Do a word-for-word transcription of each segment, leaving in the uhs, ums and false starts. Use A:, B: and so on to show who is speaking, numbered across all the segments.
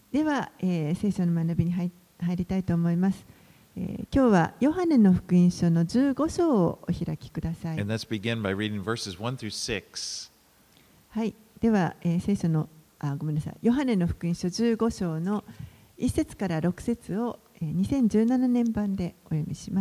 A: では、えー、聖書の学びに 入, 入りたいと思います、えー。今日はヨハネの福音書のじゅうご章をお開きください。
B: And let's begin by reading verses one through six.
A: はい、では、えー、聖書のあごめんなさいヨハネの福音書じゅうご章のいち節からろく節を、えー、にせんじゅうななねん版でお読みします。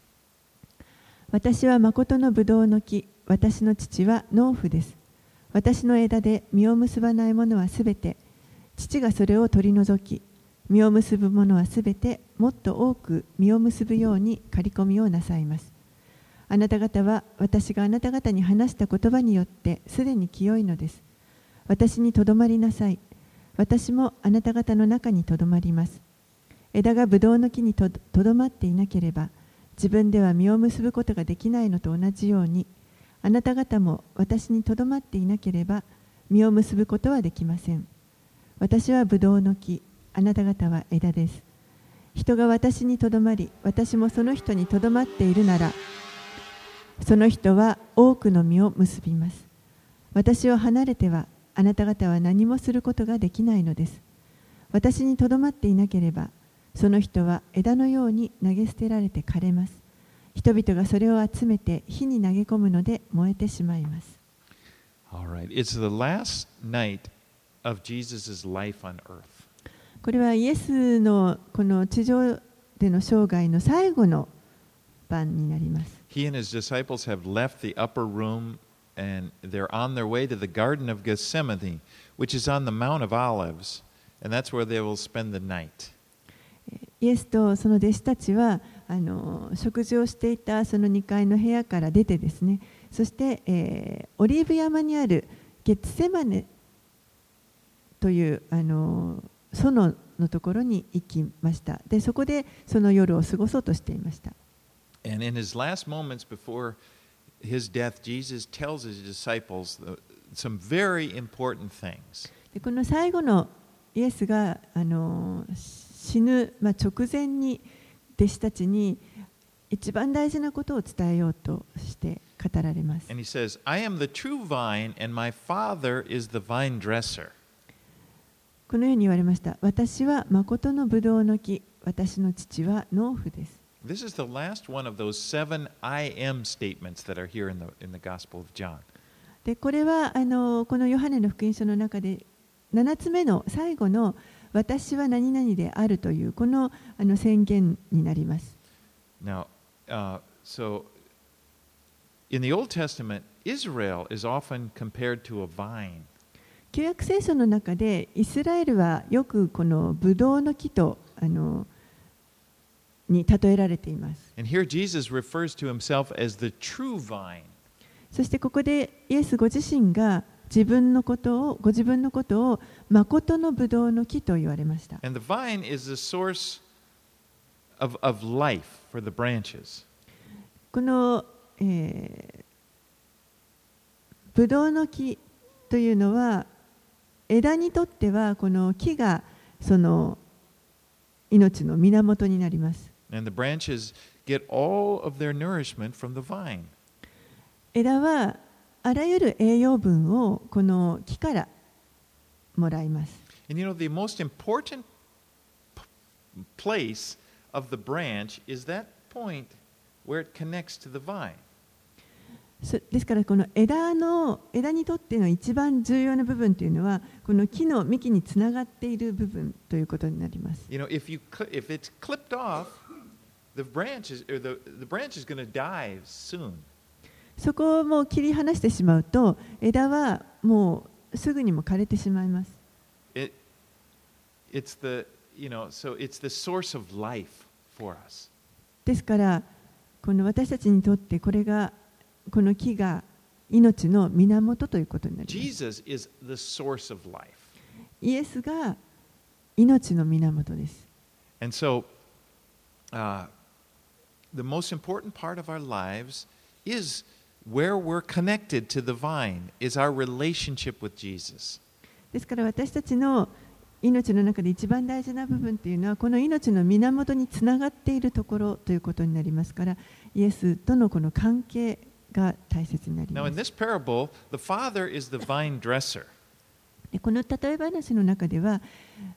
A: 私は誠のブドウの木、私の父は農夫です。私の枝で実を結ばないものはすべて父がそれを取り除き、実を結ぶものはすべてもっと多く実を結ぶように刈り込みをなさいます。あなた方は私があなた方に話した言葉によってすでに清いのです。私にとどまりなさい。私もあなた方の中にとどまります。枝がブドウの木にとどまっていなければ、自分では実を結ぶことができないのと同じように、あなた方も私にとどまっていなければ実を結ぶことはできません。私はブドウの木、あなた方は枝です。人が私にとどまり、私もその人にとどまっているなら、その人は多くの実を結びます。私を離れては、あなた方は何もすることができないのです。私にとどまっていなければ、その人は枝のように投げ捨てられて枯れます。人々がそれを集めて火に投げ込むので燃えてしまいます。
B: All right. It's the last night of Jesus' life on earth.
A: これはイエスのこの地上での生涯の最後の晩になります。
B: He and his disciples have left the upper room and they're on their way to the Garden of Gethsemane, which is on the Mount of Olives, and that's where they will spend the night.
A: イエスとその弟子たちはあの食事をしていたそのにかいの部屋から出てですね、そして、えー、オリーブ山にあるゲッツセマネというあの園のところに行きました。で、そこでその夜を過ごそうとしていました。
B: And in his last moments before his death, Jesus tells his disciples some very important things.
A: で、この最後のイエスがあの死ぬ、まあ、直前に弟子たちに一番大事なことを伝えようとして語られます。
B: And he says, I am the true vine and my father is the vine dresser.
A: このように言われました。私は誠のブドウの木、私の父は農夫です。
B: This is the last one of those seven I am statements that are here in the, in the Gospel of John.
A: で、これはあのこのヨハネの福音書の中でななつめの最後の私は何々であるというこのあの宣言になります。
B: Now, uh, so in the Old Testament, Israel is often compared to a vine.
A: 旧約聖書の中でイスラエルはよくこのブドウの木とあのに例えられています。
B: And here Jesus refers to himself as the true vine.
A: そしてここでイエスご自身が自分のことをご自分のことを誠のブドウの木と言われました。
B: And the vine is the source of, of life for the branches.
A: この、えー、ブドウの木というのは枝にとってはこの木がその命の源になります。
B: And the branches get all of their nourishment from the vine.
A: 枝はあらゆる栄養分をこの木からもらいます。
B: And you know, the most important place of the branch is that point where it connects to the vine.
A: ですからこの枝の枝にとっての一番重要な部分というのはこの木の幹につながっている部分ということになります。
B: You know, if you if it's clipped off, the branch is or the the branch is going to die soon.
A: そこをもう切り離してしまうと枝はもうすぐにも枯れてしまいます。
B: It it's the you know so it's the source of life for us.
A: ですからこの私たちにとってこれがこの木が命の源ということになります。
B: Jesus is the source of life.
A: イエスが命の源です。
B: And so, uh, the most important part of our lives is where we're connected to the vine, is our relationship with Jesus.
A: ですから私たちの命の中で一番大事な部分というのはこの命の源につながっているところということになりますから、イエスとのこの関係が大切になります。
B: Now, in this parable, the father is the vine dresser.
A: でこの例え話の中では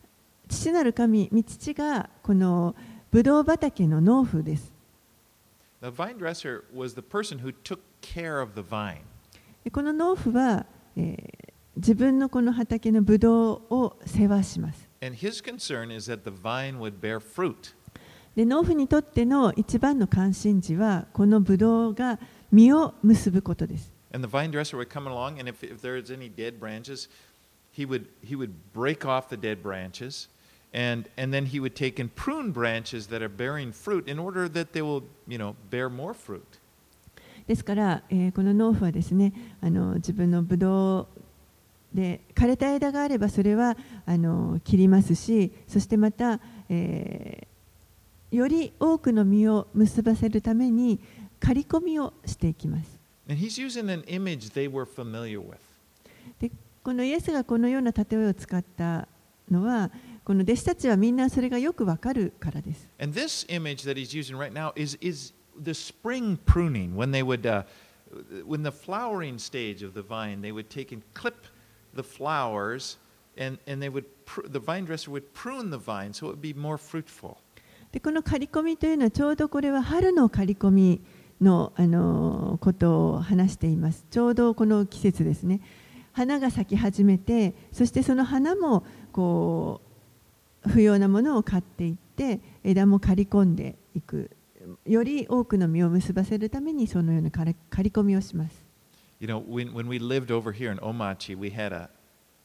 A: 父なる神、御父がこのブドウ畑の農夫です。
B: The vine dresser was the person who took care of the vine.
A: この農夫は、えー、自分のこの畑のブドウを世話します。
B: And his concern is that the vine would bear fruit.
A: で農夫にとっての一番の関心事はこのブドウが実を結ぶことです。
B: And the vine dresser would come along, and if, if there's any dead branches, he would, he would break off the dead branches, and, and then he would take and prune branches that are bearing fruit in order that they will, you know, bear more fruit.
A: ですから、えー、この農夫はですね、あの自分のブドウで枯れた枝があればそれはあの切りますし、そしてまた、えー、より多くの実を結ばせるために刈り込みをしていきます。
B: And he's using an image they were familiar with.
A: でこのイエスがこのような例えを使ったのは、この弟子たちはみんなそれがよくわかるからです。
B: And this image that he's using right now is, is the spring pruning. When they would, uh, when the flowering stage of the vine, they would take and clip the flowers, and, and they would, the vine dresser would prune the vine so it would be more fruitful.
A: でこの刈り込みというのはちょうどこれは春の刈り込みの、あのことを話しています。ちょうどこの季節ですね。花が咲き始めて、そしてその花もこう不要なものを刈っていって枝も刈り込んでいく、より多くの実を結ばせるためにそのような刈り込みをします。
B: You know, when, when we lived over here in Omachi, we had a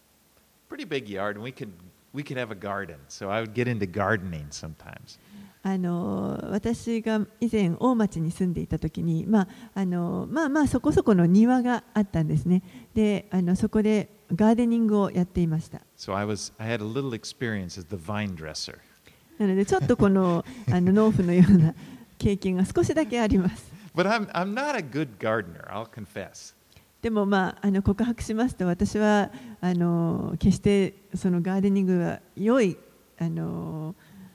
B: pretty big yard, and we could, we could have a garden. So I would get into gardening sometimes.
A: あの私が以前大町に住んでいた時に、まああのまあまあそこそこの庭があったんですね。で、あのそこでガーデニングをやっていました。
B: So I was, I had a little experience as the vine dresser.
A: なのでちょっとこのあの農夫のような経験が少しだけあります。
B: But I'm, I'm not a good gardener, I'll confess.
A: でもまああの告白しますと、私はあの決してそのガーデニングは良いあの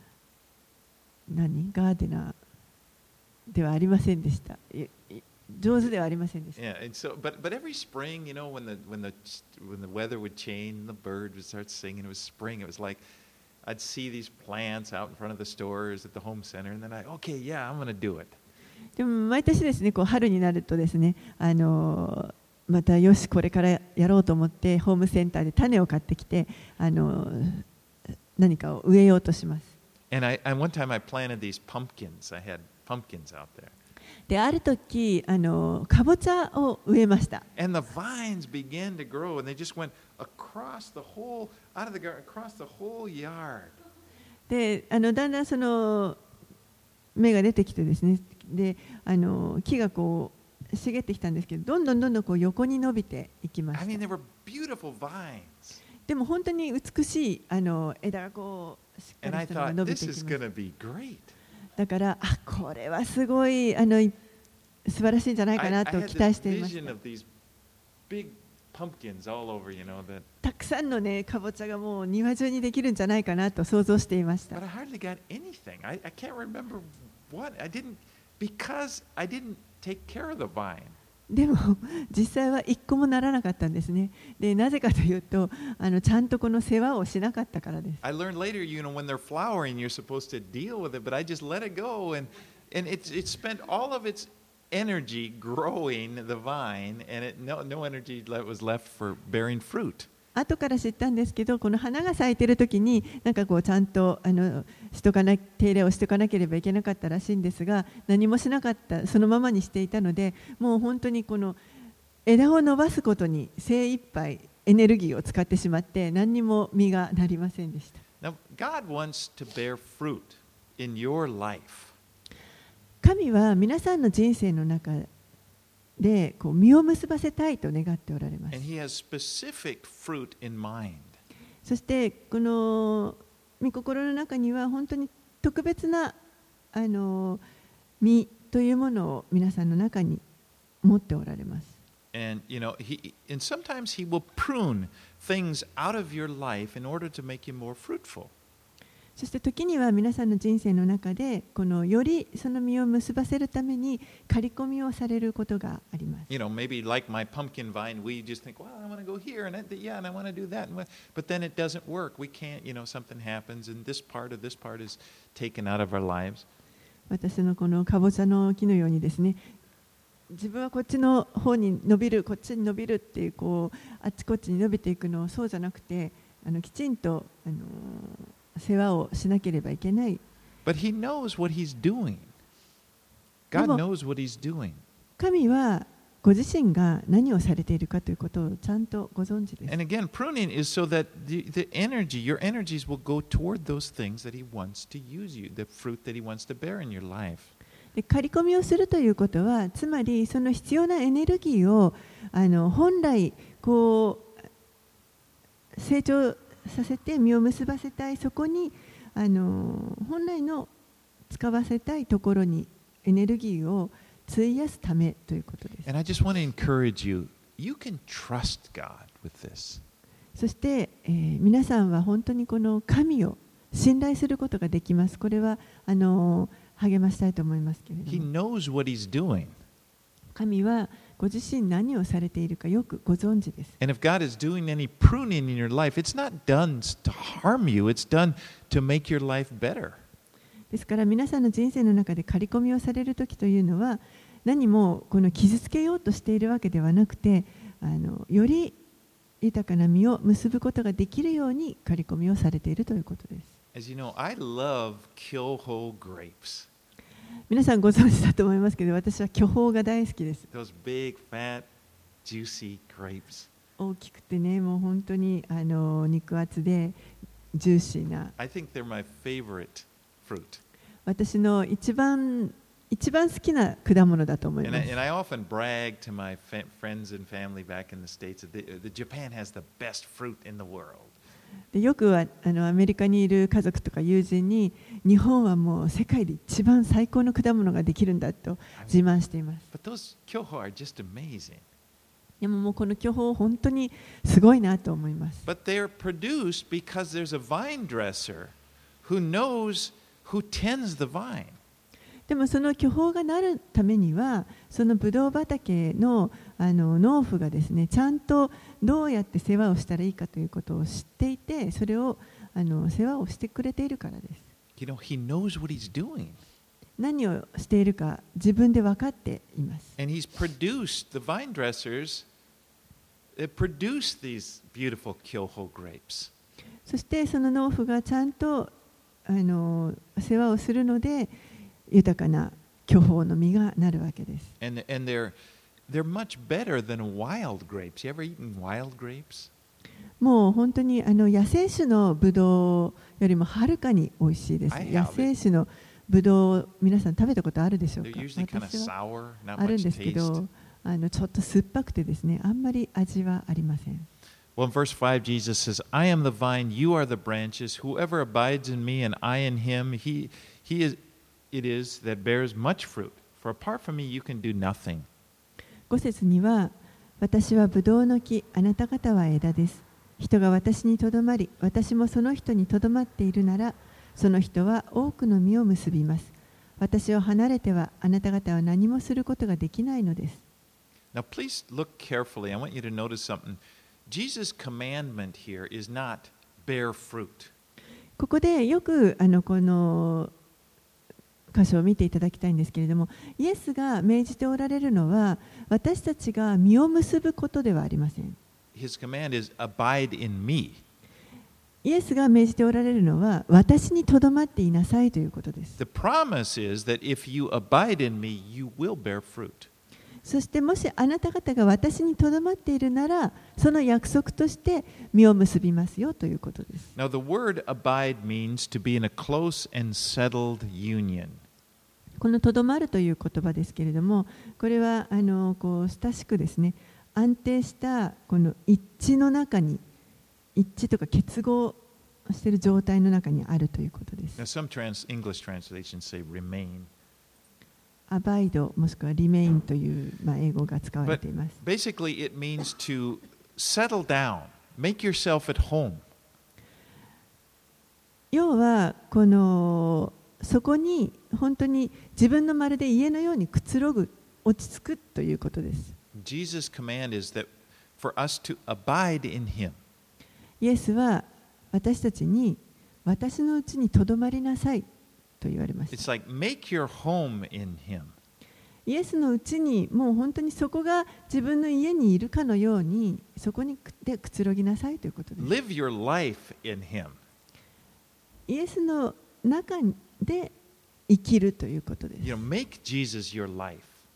A: 何ガーデナーではありませんでした。上手ではありませんでした。
B: Yeah, and so, but, but every spring, you know, when the, when the, when the weather would change, the bird would start singing, it was spring, it was like, I'd see these plants out in front of the stores at the home center, and then I, okay, yeah, I'm going to do it.
A: でも毎年ですね、こう春になるとですね、あのまたよしこれからやろうと思ってホームセンターで種を買ってきて、あの何かを植えようとします。
B: And I, and one time I planted these pumpkins. I had pumpkins out there.
A: である時あのかぼちゃを植えました。
B: And the vines began to grow, and they just went across the whole, out of the garden, across the whole yard.
A: で、あのだんだんその芽が出てきてですね、で、あの木がこう茂ってきたんですけど、どんどんどんどんこう横に伸びていきまし
B: I
A: た。
B: mean, they were beautiful vines.
A: でも本当に美しいあの枝がこうしっか
B: And
A: り
B: I
A: したのが
B: thought,
A: 伸び
B: this
A: てき
B: is
A: ま
B: going
A: す。
B: to be great.
A: だからあこれはすごいあの素晴らしいんじゃないか
B: I,
A: な
B: I
A: と
B: had
A: 期
B: this
A: 待していまし
B: vision
A: た。
B: of these big pumpkins all over, you know, that.
A: たくさんのねかぼちゃがもう庭中にできるんじゃないかなと想像していました。
B: But I hardly got anything. I, I can't remember what. I didn't, because I didn't take care of the vine.
A: でも実際は一個もならなかったんですね。でなぜかというとあのちゃんとこの世話をしなかったからです。
B: I learned later, you know, when they're flowering, you're supposed to deal with it, but I just let it go, and and it it spent all of its energy growing the vine, and it no no energy was left for bearing fruit.
A: 後から知ったんですけど、この花が咲いている時になんかこうちゃんとあのしとかな手入れをしておかなければいけなかったらしいんですが、何もしなかった、そのままにしていたので、もう本当にこの枝を伸ばすことに精一杯エネルギーを使ってしまって何にも実がなりませんでした。
B: Now, God wants to bear fruit in your life.
A: 神は皆さんの人生の中でこう実を結ばせたいと願っておられます。
B: And He has specific fruit in mind.
A: そしてこの御心の中には本当に特別なあの実というものを皆さんの中に持っておられます。
B: And you know, he and sometimes He will prune things out of your life in order to make you more fruitful.
A: そして時には皆さんの人生の中でこのよりその実を結ばせるために刈り込みをされることがあります。
B: You know, maybe like my pumpkin vine, we just think, well, I want to go here and yeah, and I want to do that, but then it doesn't work. We can't, you know, something happens, and this part of this part is taken out of our lives.
A: 私のこのかぼちゃの木のようにですね、自分はこっちの方に伸びる、こっちに伸びるっていうこうあっちこっちに伸びていくのをそうじゃなくて、あのきちんとあの世話をしなければいけない。
B: But he knows what he's doing. God knows what he's doing.
A: 神はご自身が何をされているかということをちゃんとご存知です。
B: And again, pruning is so that the, the energy, your energies will go toward those things that he wants to use you, the fruit that he wants to bear in your life.
A: で刈り込みをするということは、つまりその必要なエネルギーをあの本来こう成長させて実を結ばせたい、そこにあの本来の使わせたいところにエネルギーを費やすためということです。
B: And I just want to encourage you, you can trust God with this.
A: そして、えー、皆さんは本当にこの神を信頼することができます。これはあの励ましたいと思いますけれども。
B: He knows what he's doing.
A: 神はご自身何をされているかよくご存知です。
B: And if God is doing any pruning in your life, it's not done to harm you, it's done to make your life better.
A: ですから皆さんの人生の中で刈り込みをされるときというのは、何もこの傷つけようとしているわけではなくて、あのより豊かな実を結ぶことができるように刈り込みをされているということです。
B: As you know, I love Kyoho grapes.
A: 皆さんご存知だと思いますけど、私は巨峰が大好きです。
B: Those big, fat, juicy grapes.
A: 大きくてね、もう本当にあの肉厚でジューシーな。
B: I think they're my favorite fruit.
A: 私の一番一番好きな果物だと思います。
B: And I, and I often brag to my fa- friends and family back in the States that the, the Japan has the best fruit in the world.
A: でよくはあのアメリカにいる家族とか友人に、日本はもう世界で一番最高の果物ができるんだと自慢しています。
B: But those kyoho are just amazing.
A: でももうこの巨峰本当にすごいなと思います。
B: But they're produced because there's a vine dresser who knows who tends the vine.
A: でもその巨峰がなるためには、そのブドウ畑のあの農夫がですね、ちゃんとどうやって世話をしたらいいかということを知っていて、それをあの世話をしてくれているからです。
B: You know, he knows what he's doing.
A: 何をしているか自分で分かっています。
B: And he's produced, the vine dressers, they produce these beautiful kyoho grapes.
A: そしてその農夫がちゃんとあの世話をするので、豊かな巨峰の実がなるわけです。
B: And, and they're, they're much better than wild grapes. You ever eaten wild grapes?
A: もう本当にあの野生種のブドウよりもはるかに美味しいです。野生種のブドウ、皆さん食べたことあるでしょうか？私はあるんですけど、あのちょっと酸っぱくてですね、あんまり味はありません。
B: Well, in verse five, Jesus says, I am the vine, you are the branches. Whoever abides in me and I in him, he, he is, it is that bears much fruit. For apart from me, you can do nothing.
A: ご節には、私はブドウの木、あなた方は枝です。人が私にとどまり、私もその人にとどまっているなら、その人は多くの実を結びます。私を離れては、あなた方は何もすることができないのです。
B: Now, please look carefully. I want you to notice something. Jesus' commandment here is not bear fruit.
A: ここでよくあのこの箇所を見ていただきたいんですけれども、イエスが命じておられるのは、私たちが実を結ぶことではありません。
B: His command is abide in me.
A: イエスが命じておられるのは、私にとどまっていなさいということです。
B: The promise is that if you abide in me, you will bear fruit.
A: そしてもしあなた方が私にとどまっているなら、その約束として実を結びますよということです。
B: Now, the word abide means to be in a close and settled union.
A: このとどまるという言葉ですけれども、これはあのこう親しくですね、安定したこの一致の中に、一致とか結合している状態の中にあるということです。
B: Now, some trans English translations say remain.
A: アバイドもしくはリメインという、まあ、英語が使われています。
B: But basically, it means to settle down, make yourself at home.
A: 要はこのそこに本当に自分のまるで家のようにくつろぐ、落ち着くということです。
B: Jesus' command is that for us to abide in Him.
A: イエスは私たちに私のうちにとどまりなさいと言われました。
B: It's like make your home in Him.
A: イエスのうちにもう本当にそこが自分の家にいるかのようにそこにでくつろぎなさいということです。
B: Live your life in Him.
A: イエスの中で生きるということです。
B: You know, make Jesus your life.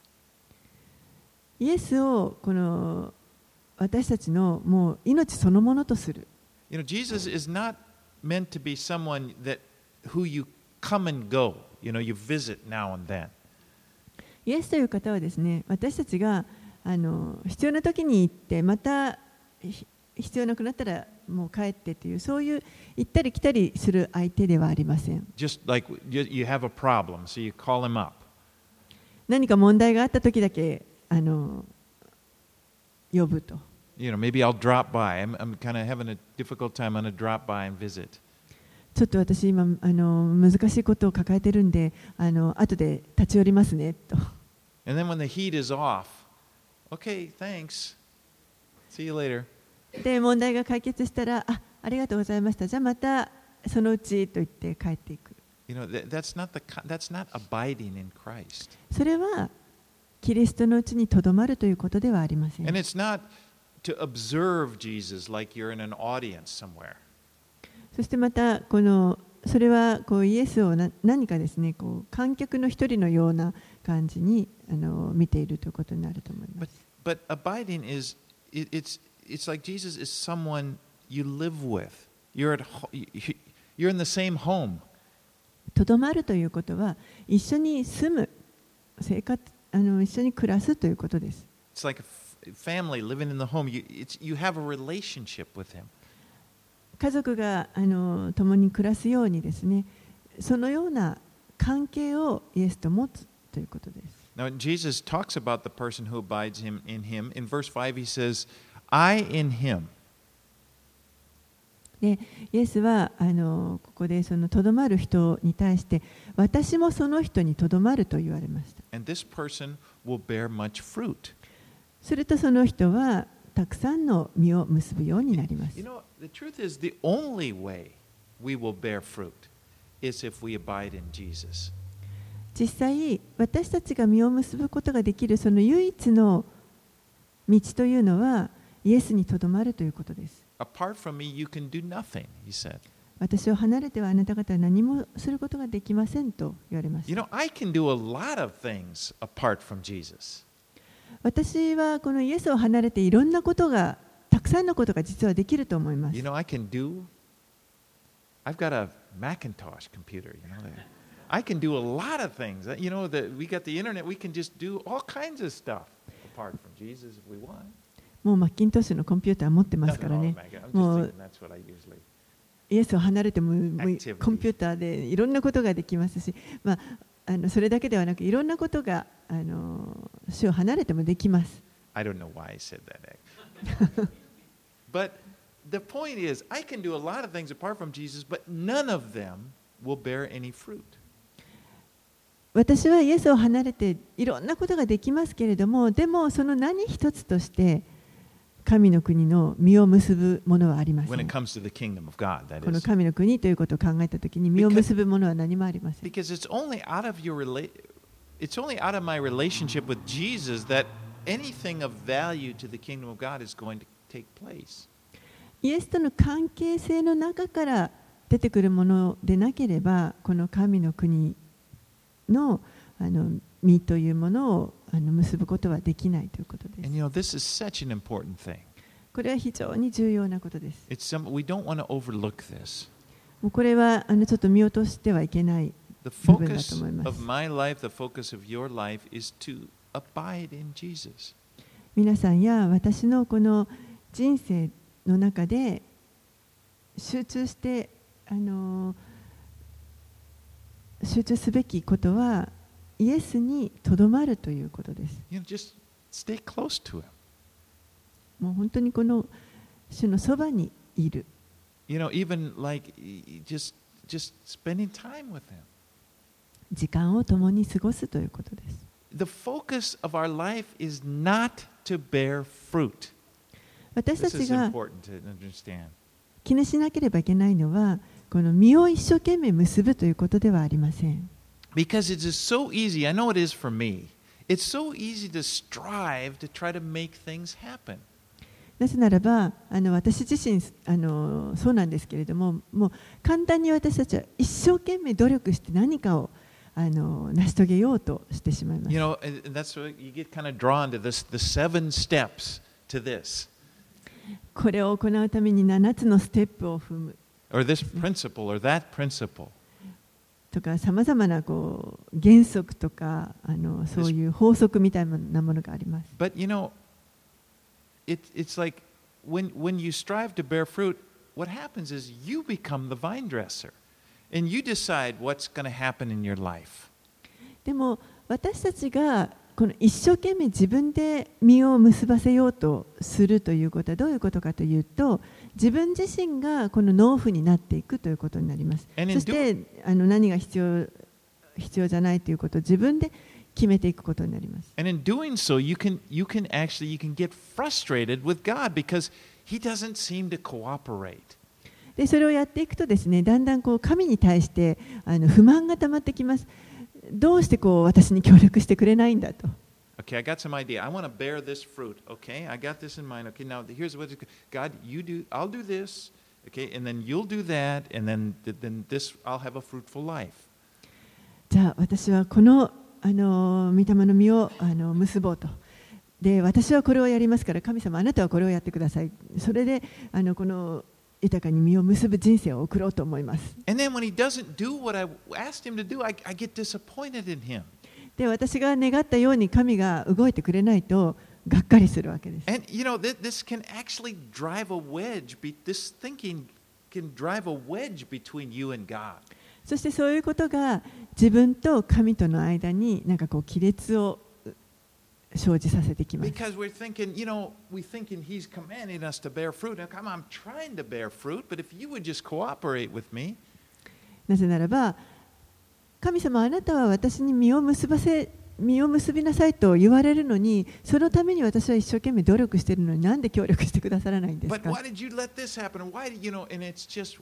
A: イエスをこの私たちのもう命そのものとする。
B: You know, Jesus is not meant to be someone that who you come and go. You know, you visit now and then.
A: イエスという方はですね、私たちがあの必要な時に行ってまた必要なくなったらもう帰ってというそういう行ったり来たりする相手ではありません。
B: Just like you, you have a problem, so you call him up.
A: 何か問題があった時だけあの呼ぶと。
B: You know, maybe I'll drop by. I'm, I'm kind of having a difficult time. I'm going to drop by and visit.
A: ちょっと私今あの難しいことを抱えてるんで、あの後で立ち寄りますねと。
B: And then when the heat is off, okay, thanks. See you later.
A: で問題が解決したら、あ、ありがとうございました。じゃあまたそのうちと言って帰っていく。
B: You know, that, that's not the that's not abiding in Christ.
A: それはキリストのうちにとどまるということではありません。
B: And it's not to observe Jesus like you're in an audience somewhere.
A: そしてまたこのそれはこうイエスをな何かですね、こう観客の一人のような感じにあの見ているということになると思います。
B: But, but abiding is it, it's it's like Jesus is someone you live with. You're at you're in the same home.
A: とどまるということは一緒に住む、生活あの一緒に暮らすということです。
B: It's like a family living in the home. You it's you have a relationship with him.
A: 家族があの共に暮らすようにですね、そのような関係をイエスと持つということです。
B: Now Jesus talks about the person who abides him in him. In verse five he says, "I in him."
A: でイエスはあのここでそのとどまる人に対して私もその人にとどまると言われました。
B: And this person will bear much fruit.
A: するとその人はたくさんの実を結ぶようになります。
B: You know, the truth is the only way we will bear fruit is if we abide in Jesus.
A: 実際私たちが実を結ぶことができるその唯一の道というのはイエスにとどまるということです。
B: Apart from me, you can do nothing, he said.
A: 私を離れてはあなた方は何もすることができませんと言われました。
B: You know, I can do a lot of things apart from Jesus.
A: 私はこのイエスを離れていろんなことが、たくさんのことが実はできると思います。
B: You know, I can do, I've got a Macintosh computer, you know. I can do a lot of things. You know, that we got the internet, we can just do all kinds of stuff apart from Jesus if we want.
A: もうマッキントッシュのコンピューター持ってますからね。もうイエスを離れてもコンピューターでいろんなことができますし、まあ、あのそれだけではなくいろんなことがあの主を離れてもできます。
B: I don't know why I said that. But the point is, I can do a lot of things apart from Jesus, but none of them will bear any fruit.
A: 私はイエスを離れていろんなことができますけれども、でもその何一つとして神の国の実を結ぶものはありません。この神の国ということを考えたときに実を結ぶものは何もありません。
B: Because it's only out of your rela- it's only out of my relationship with Jesus that anything of value to the kingdom of God is going to take place.
A: イエスとの関係性の中から出てくるものでなければ、この神の国のあの実というものをあの結ぶことはできないということです。
B: And you know, this is such an important thing.
A: これは非常に重要なことです。
B: It's some, we don't want to overlook this.
A: もうこれはあのちょっと見落としてはいけない部分だと思います。
B: The focus of my life, the focus of your life is to abide in Jesus.
A: 皆さんや私のこの人生の中で集中してあの集中すべきことはイエスにとどまるということです。
B: You know, just stay close to him.
A: もう本当にこの主のそばにいる。
B: You know, even like just just spending time with him.
A: 時間を共に過ごすということです。
B: The focus of our life is not to bear fruit.
A: 私た
B: This
A: ち
B: is
A: が
B: important to understand.
A: 気にしなければいけないのは、この実を一生懸命結ぶということではありません。
B: Because it is so easy, I know it is for me, it's so easy to strive to try to make things happen.
A: なぜならば、あの私自身あのそうなんですけれども、もう簡単に私たちは一生懸命努力して何かをあの成し遂げようとしてしまいます。
B: You know, and that's what you get kind of drawn to this, the seven steps to this.
A: これを行うためにななつのステップを踏む。
B: Or this principle or that principle.
A: とかさまざまなこう原則とかあのそういう法則みたいなものがあります。
B: But you know, it, it's like when, when you strive to bear fruit, what happens is you become the vine dresser and you decide what's going to happen in your life.
A: でも私たちがこの一生懸命自分で実を結ばせようとするということはどういうことかというと、自分自身がこの農夫になっていくということになります。そしてあの何が必要、必要じゃないということを自分で決めていくことになります。
B: And in doing so, you can, you can actually, you can get frustrated with God because He doesn't seem to cooperate.
A: で、それをやっていくとですね、だんだんこう神に対してあの不満がたまってきます。どうしてこう私に協力してくれないんだと。
B: Okay, I got some idea. I want to bear this fruit. Okay, I got this in mind. Okay, now here's what God, you do. I'll do this. Okay, and then you'll do that, and then then this I'll have a fruitful life.
A: じゃあ私はこのあの御霊の実をあの結ぼうと。で、私はこれをやりますから神様あなたはこれをやってください。それであのこの豊かに実を結ぶ人生を送ろうと思います。
B: And then when he doesn't do what I asked him to do, I, I get disappointed in him.
A: で、私が願ったように神が動いてくれないとがっかりするわけです。
B: And you know, this, this can actually drive a wedge. Be, this thinking can drive a wedge between you and God.
A: そしてそういうことが自分と神との間になんかこう亀裂を生じさせてきます。
B: Because we're thinking, you know, we're thinking He's commanding us to bear fruit. Now, come on, I'm trying to bear fruit, but if you would just cooperate with me.
A: なぜならば、神様あなたは私に実を結ばせ、実を結びなさいと言われるのに、そのために私は一生懸命努力しているのに、なんで協力してくださらないんですか。
B: But why did you let this happen? And why did you know? And it's just,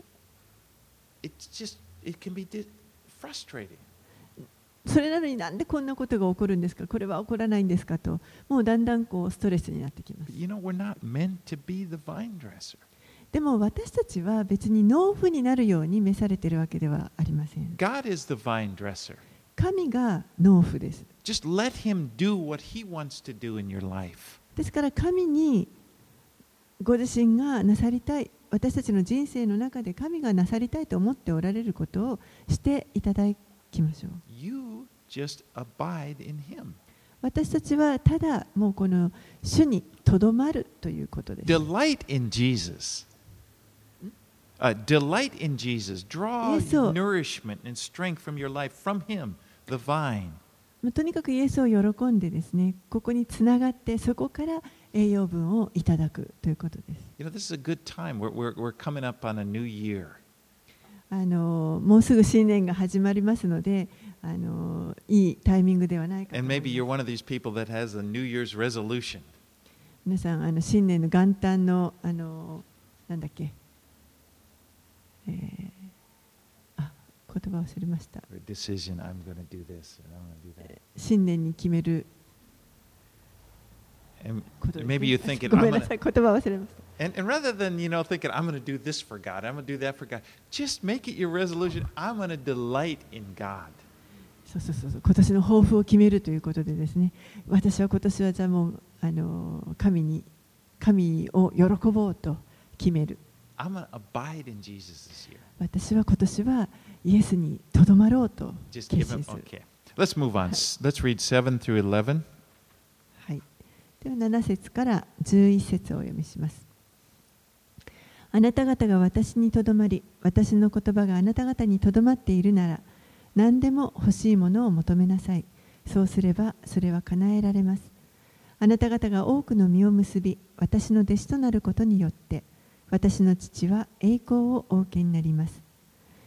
B: it's just, it can be frustrating.
A: それなのになんでこんなことが起こるんですか、これは起こらないんですかと、もうだんだんこうストレスになってきます。
B: You know, we're not meant to be the vine dresser.
A: でも私たちは別に農夫になるように召されているわけではありません。
B: God is the vine dresser.
A: 神が農夫です。
B: Just let Him do what He wants to do in your life. です
A: から神にご自身がなさりたい、私たちの人生の中で神がなさりたいと思っておられることをしていただきましょう。
B: You just abide in Him.
A: 私たちはただもうこの主にとどまるということです。
B: Delight in Jesus. Uh, delight in Jesus. Draw nourishment and strength from your life from Him, the vine.
A: とにかくイエスを喜んでですね、ここにつながってそこから栄養分をいただくということです。
B: You know, this is a good time. We're, we're, we're coming up on a new year.
A: あのもうすぐ新年が始まりますので、あのいいタイミングではないかと思います。
B: And maybe you're one of these people that has a New Year's resolution.
A: 皆さんあの新年の元旦のあのなんだっけ、えー、あ言葉忘れました。
B: Decision, I'm going to do this and I'm going to do that.
A: 新年に決める。
B: And maybe you think it.
A: ごめんなさい、言葉忘れました。
B: And, and rather than, you know, thinking, I'm going to do this for God, I'm going to do that for God, just make it your resolution, I'm going to delight in God.
A: そうそうそうそう、今年の抱負を決めるということでですね、私は今年はじゃあもうあの神に神を喜ぼうと決める。
B: I'm going to abide in Jesus this year.
A: 私は今年はイエスにとどまろうと決
B: Just
A: 心
B: give
A: す
B: him,
A: る。
B: okay. Let's move on. Let's read seven through eleven.
A: はい。ではなな節からじゅういち節をお読みします。あなた方が私にとどまり、私の言葉があなた方にとどまっているなら、何でも欲しいものを求めなさい。そうすればそれは叶えられます。あなた方が多くの実を結び、私の弟子となることによって、私の父は栄光をお受けになります。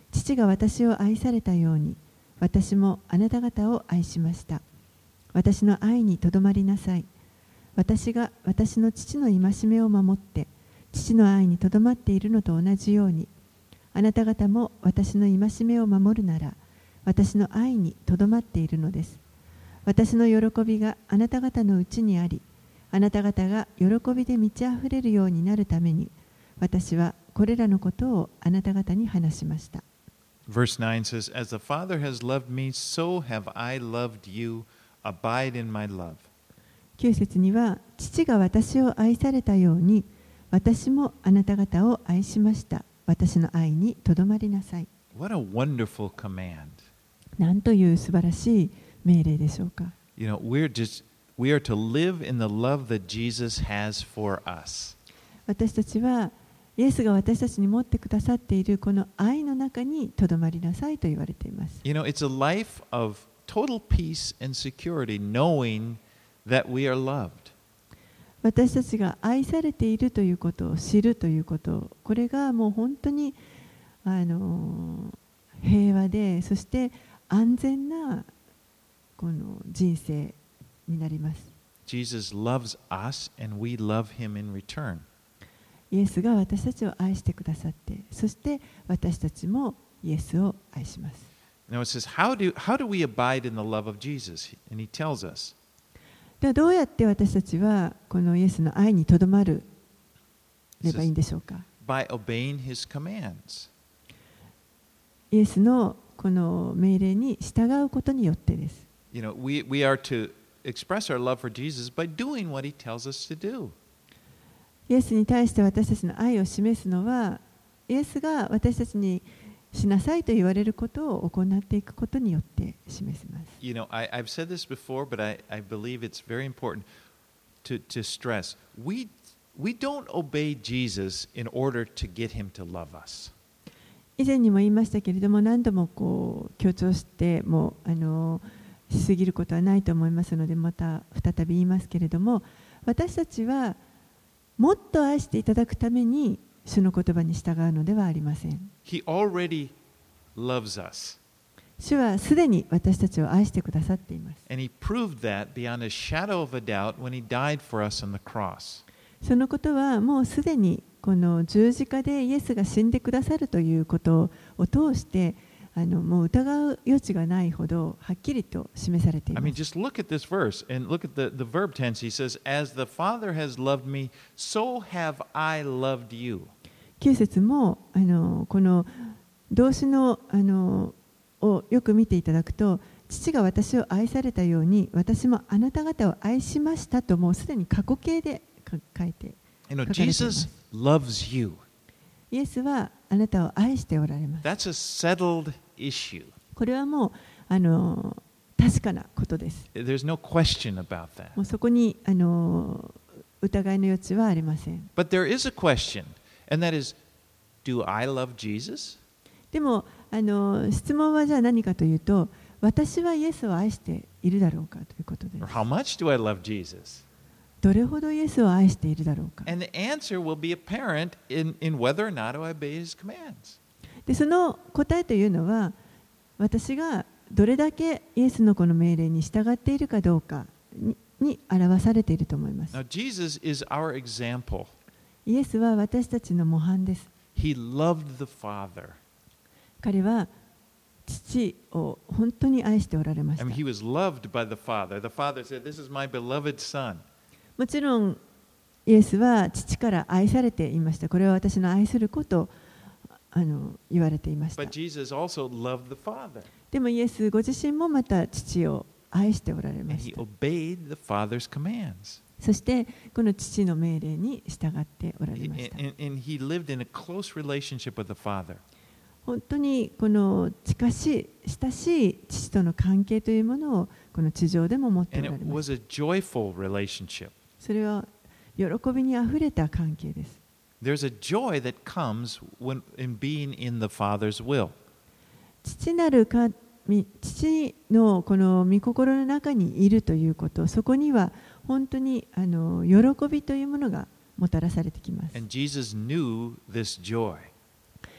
A: 父が私を愛されたように、私もあなた方を愛しました。私の愛にとどまりなさい。私が私の父の戒めを守って、父の愛にとどまっているのと同じように、あなた方も私の戒めを守るなら、私の愛にとどまっているのです。私の喜びがあなた方のうちにあり、あなた方が喜びで満ち溢れるようになるために、私はこれらのことをあなた方に話しました。
B: Verse nine says, As the Father has loved me, so have I loved you. Abide in my love.
A: きゅう節には、父が私を愛されたように、私もあなた方を愛しました。私の愛にとどまりなさい。
B: What a wonderful command.
A: なんという素晴らしい命令でしょうか。
B: You know, we're just, we are to live in the love that Jesus has for us.
A: 私たちは、イエスが私たちに持ってくださっているこの愛の中にとどまりなさいと言われています。
B: You know, it's a life of total peace and security, knowing that we are loved.
A: 私たちが愛されているということを知るということ、これがもう本当にあの平和で、そして安全なこの人生になります。
B: Jesus loves us and we love him in return.
A: イエスが私たちを愛してくださって、そして私たちもイエスを愛します。
B: Now it says, how do, how do we abide in the love of Jesus? And he tells us.
A: ではどうやって私たちはこのイエスの愛にとどまるればいいんでしょうか。
B: By obeying his commands.
A: イエスのこの命令に従うことによってです。
B: You know, we, we are to express our love for Jesus by doing what he tells us to do.
A: イエスに対して私たちの愛を示すのは、イエスが私たちにしなさいと言われることを行っていくことによって示せます。
B: You know, I, I've said this before, but I, I believe it's very important to, to stress. We, we don't obey Jesus in order to get him to love us.
A: 以前にも言いましたけれども、何度もこう強調してもあのしすぎることはないと思いますので、また再び言いますけれども、私たちはもっと愛していただくために主の言葉に従うのではありません。
B: He already loves us.
A: 主はすでに私たちを愛してくださっています。
B: And he proved that beyond a shadow of a doubt when he died for us on the cross.
A: そのことはもうすでにこの十字架でイエスが死んでくださるということを通してあのもう疑う余地がないほどはっきりと示されてい
B: I
A: ま
B: mean,
A: す。
B: just look at this verse and look at the, the verb tense. He says, As the Father has loved me, so have I loved you.
A: きゅう節もあのこの動詞のあのをよく見ていただくと、父が私を愛されたように私もあなた方を愛しましたと、もうすでに過去形で書いて
B: You know,
A: 書かれています。
B: Jesus loves you.
A: イエスはあなたを愛しておられます。
B: That's a settled issue.
A: これはもうあの確かなことです。
B: There's no question about that.
A: もうそこにあの疑いの余地はありません。
B: But there is a question, and that is, do I love Jesus?
A: でもあの質問はじゃあ何かというと、私はイエスを愛しているだろうかということです。
B: Or how much do I love Jesus?
A: どれほどイエスを愛しているだろうか。
B: And the answer will be apparent in, in whether or not I obey his commands.
A: でその答えというのは、私がどれだけイエスのこの命令に従っているかどうか に, に表されていると思います。
B: Now, Jesus is our example.
A: イエスは私たちの模範です。
B: He loved the Father.
A: 彼は父を本当に愛しておられまし
B: I
A: た。
B: mean, he was loved by the Father. The Father said, This is my beloved Son.
A: もちろんイエスは父から愛されていました。これは私の愛する子とあの言われていました。
B: But Jesus also loved the Father.
A: でもイエスご自身もまた父を愛しておられ
B: And
A: まし
B: he
A: た。
B: obeyed the Father's commands.
A: そしてこの父の命令に従っておられました。
B: And, and he lived in a close relationship with the Father.
A: 本当にこの近しい親しい父との関係というものをこの地上でも持ってお
B: And
A: られ
B: it
A: ます。
B: was a joyful relationship.
A: それは喜びにあふれた関係です。
B: There's a joy that comes when, in being in the Father's will.
A: 父なる神、父のこの御心の中にいるということ、そこには本当にあの喜びというものがもたらされてきます。
B: And Jesus knew this joy.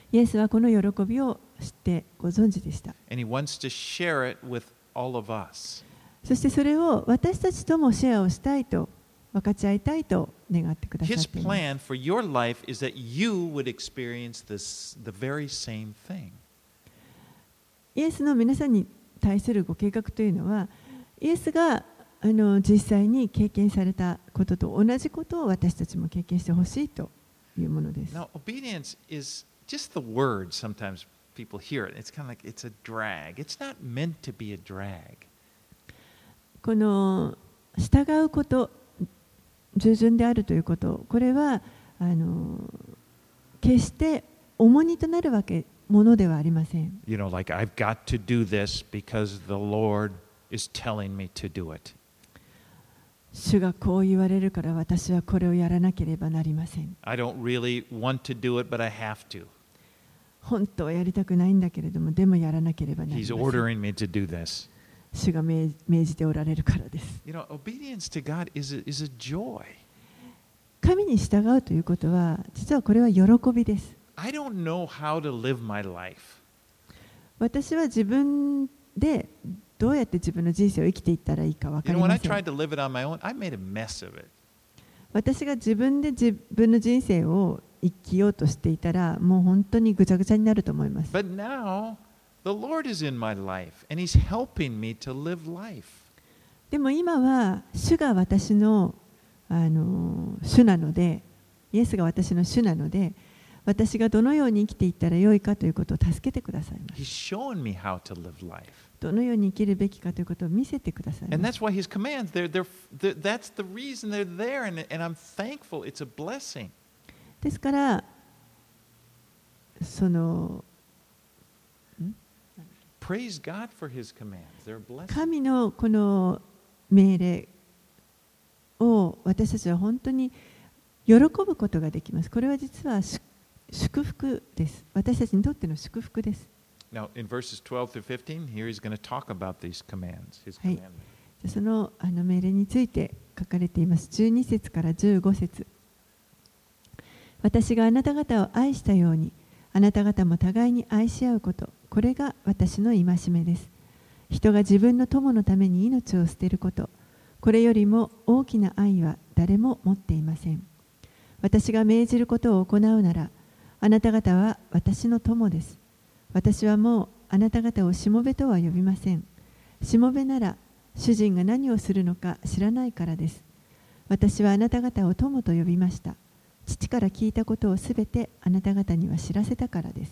A: イエスはこの喜びを知ってご存知でした。
B: And he wants to share it with all of us.
A: そしてそれを私たちともシェアをしたいと、分かち合いたいと願ってくださっ
B: His
A: ています。
B: plan for your life is that you would experience this, the very same thing.
A: イエスの皆さんに対するご計画というのは、イエスがあの実際に経験されたことと同じことを私たちも経験してほしいというものです。
B: Now, obedience is just the word. Sometimes people hear it. It's kind of like it's a drag. It's not meant to be a drag.
A: この従うこと、従順であるということ、これはあの決して重荷となるわけものではありません。
B: You know, like I've got to do this because the Lord is telling me to do it.
A: 主がこう言われるから私はこれをやらなければなりません。
B: I don't really want to do it, but I have to.
A: 本当はやりたくないんだけれども、でもやらなければなり
B: He's
A: ません。
B: ordering me to do this.
A: 主が命命じておられるからです。
B: You know, obedience to God is a, is a joy.
A: 神に従うということは、実はこれは喜びです。
B: I don't know how to live my life.
A: 私は自分でどうやって自分の人生を生きていったらいいか分か
B: You
A: り
B: know, when
A: ま
B: I
A: せん。
B: tried to live it on my own, I made a mess of it.
A: 私が自分で自分の人生を生きようとしていたら、もう本当にぐちゃぐちゃになると思います。
B: But now, the Lord is in my life, and He's helping me to live life.
A: でも今は主が私の、あの主なので、イエスが私の主なので、私がどのように生きていったらよいかということを助けてくださいます。
B: He's showing me how to live life.
A: どのように生きるべきかということを見せてください
B: And
A: ます。
B: that's why His commands, they're, they're, they're, that's the reason they're there, and, and I'm thankful. It's a blessing.
A: ですから、その
B: Praise God for His commands. They're a blessing.
A: 神のこの命令を私たちは本当に喜ぶことができます。これは実は祝福です。私たちにとっての祝福です。
B: Now, in verses twelve through fifteen, here He's going to talk about these commands, His
A: はい
B: commandments.
A: そのあの命令について書かれています。じゅうに節からじゅうご節。私があなた方を愛したように、あなた方も互いに愛し合うこと、これが私の戒めです。人が自分の友のために命を捨てること、これよりも大きな愛は誰も持っていません。私が命じることを行うなら、あなた方は私の友です。私はもうあなた方をしもべとは呼びません。しもべなら、主人が何をするのか知らないからです。私はあなた方を友と呼びました。父から聞いたことをすべてあなた方には知らせたからです。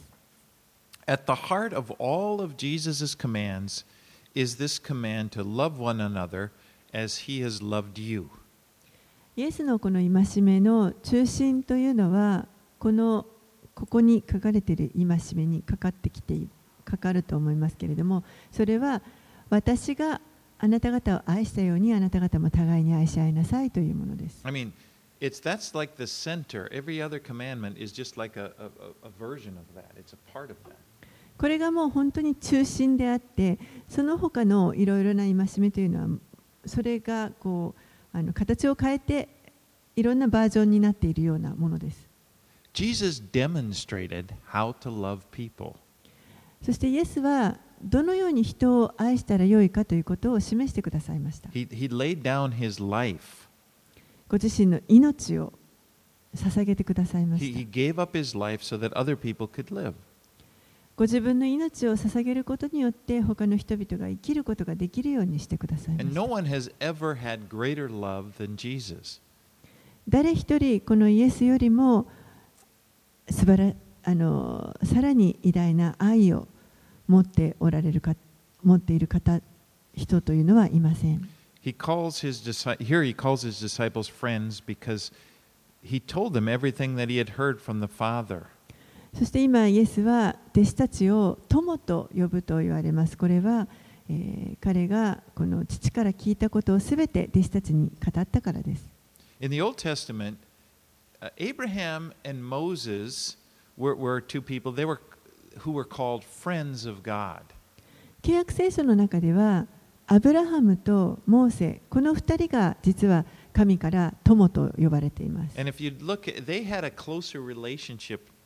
B: At the heart of all of Jesus' commands is this command to love one another as He has loved you.
A: イエスのこの戒めの中心というのは、このここに書かれている戒めにかかってきている、かかると思いますけれども、それは私があなた方を愛したようにあなた方も互いに愛し合いなさいというものです。
B: I mean, it's that's like the center. Every other commandment is just like a, a, a version of that. It's a part of that.
A: これがもう本当に中心であって、その他のいろいろな戒めというのは、それがこうあの形を変えていろんなバージョンになっているようなものです。
B: Jesus demonstrated how to love people.
A: そしてイエスはどのように人を愛したらよいかということを示してくださいました。
B: He, he laid down His life.
A: ご自身の命を捧げてくださいま
B: He,
A: した。
B: he gave up His life so that other people could live.
A: ご自分の命を捧げることによって他の人々が生きることができるようにしてくださいま
B: And
A: し
B: no
A: た。
B: one has ever had greater love than Jesus.
A: 誰一人このイエスよりも素晴らあのさらに偉大な愛を持っておられるか持っている方人というのはいません。
B: He calls his disci- here he calls his disciples friends because he told them everything that he had heard from the Father.
A: そして今イエスは弟子たちを友と呼ぶと言われます。これは、えー、彼がこの父から聞いたことをすべて弟子たちに語ったからです。
B: In the Old Testament, uh, Abraham and Moses were, were two people they were, who were called friends of God.
A: 契約聖書の中ではアブラハムとモーセこのふたりが実は神から友と呼ばれています。
B: And if you look at, they had a closer relationship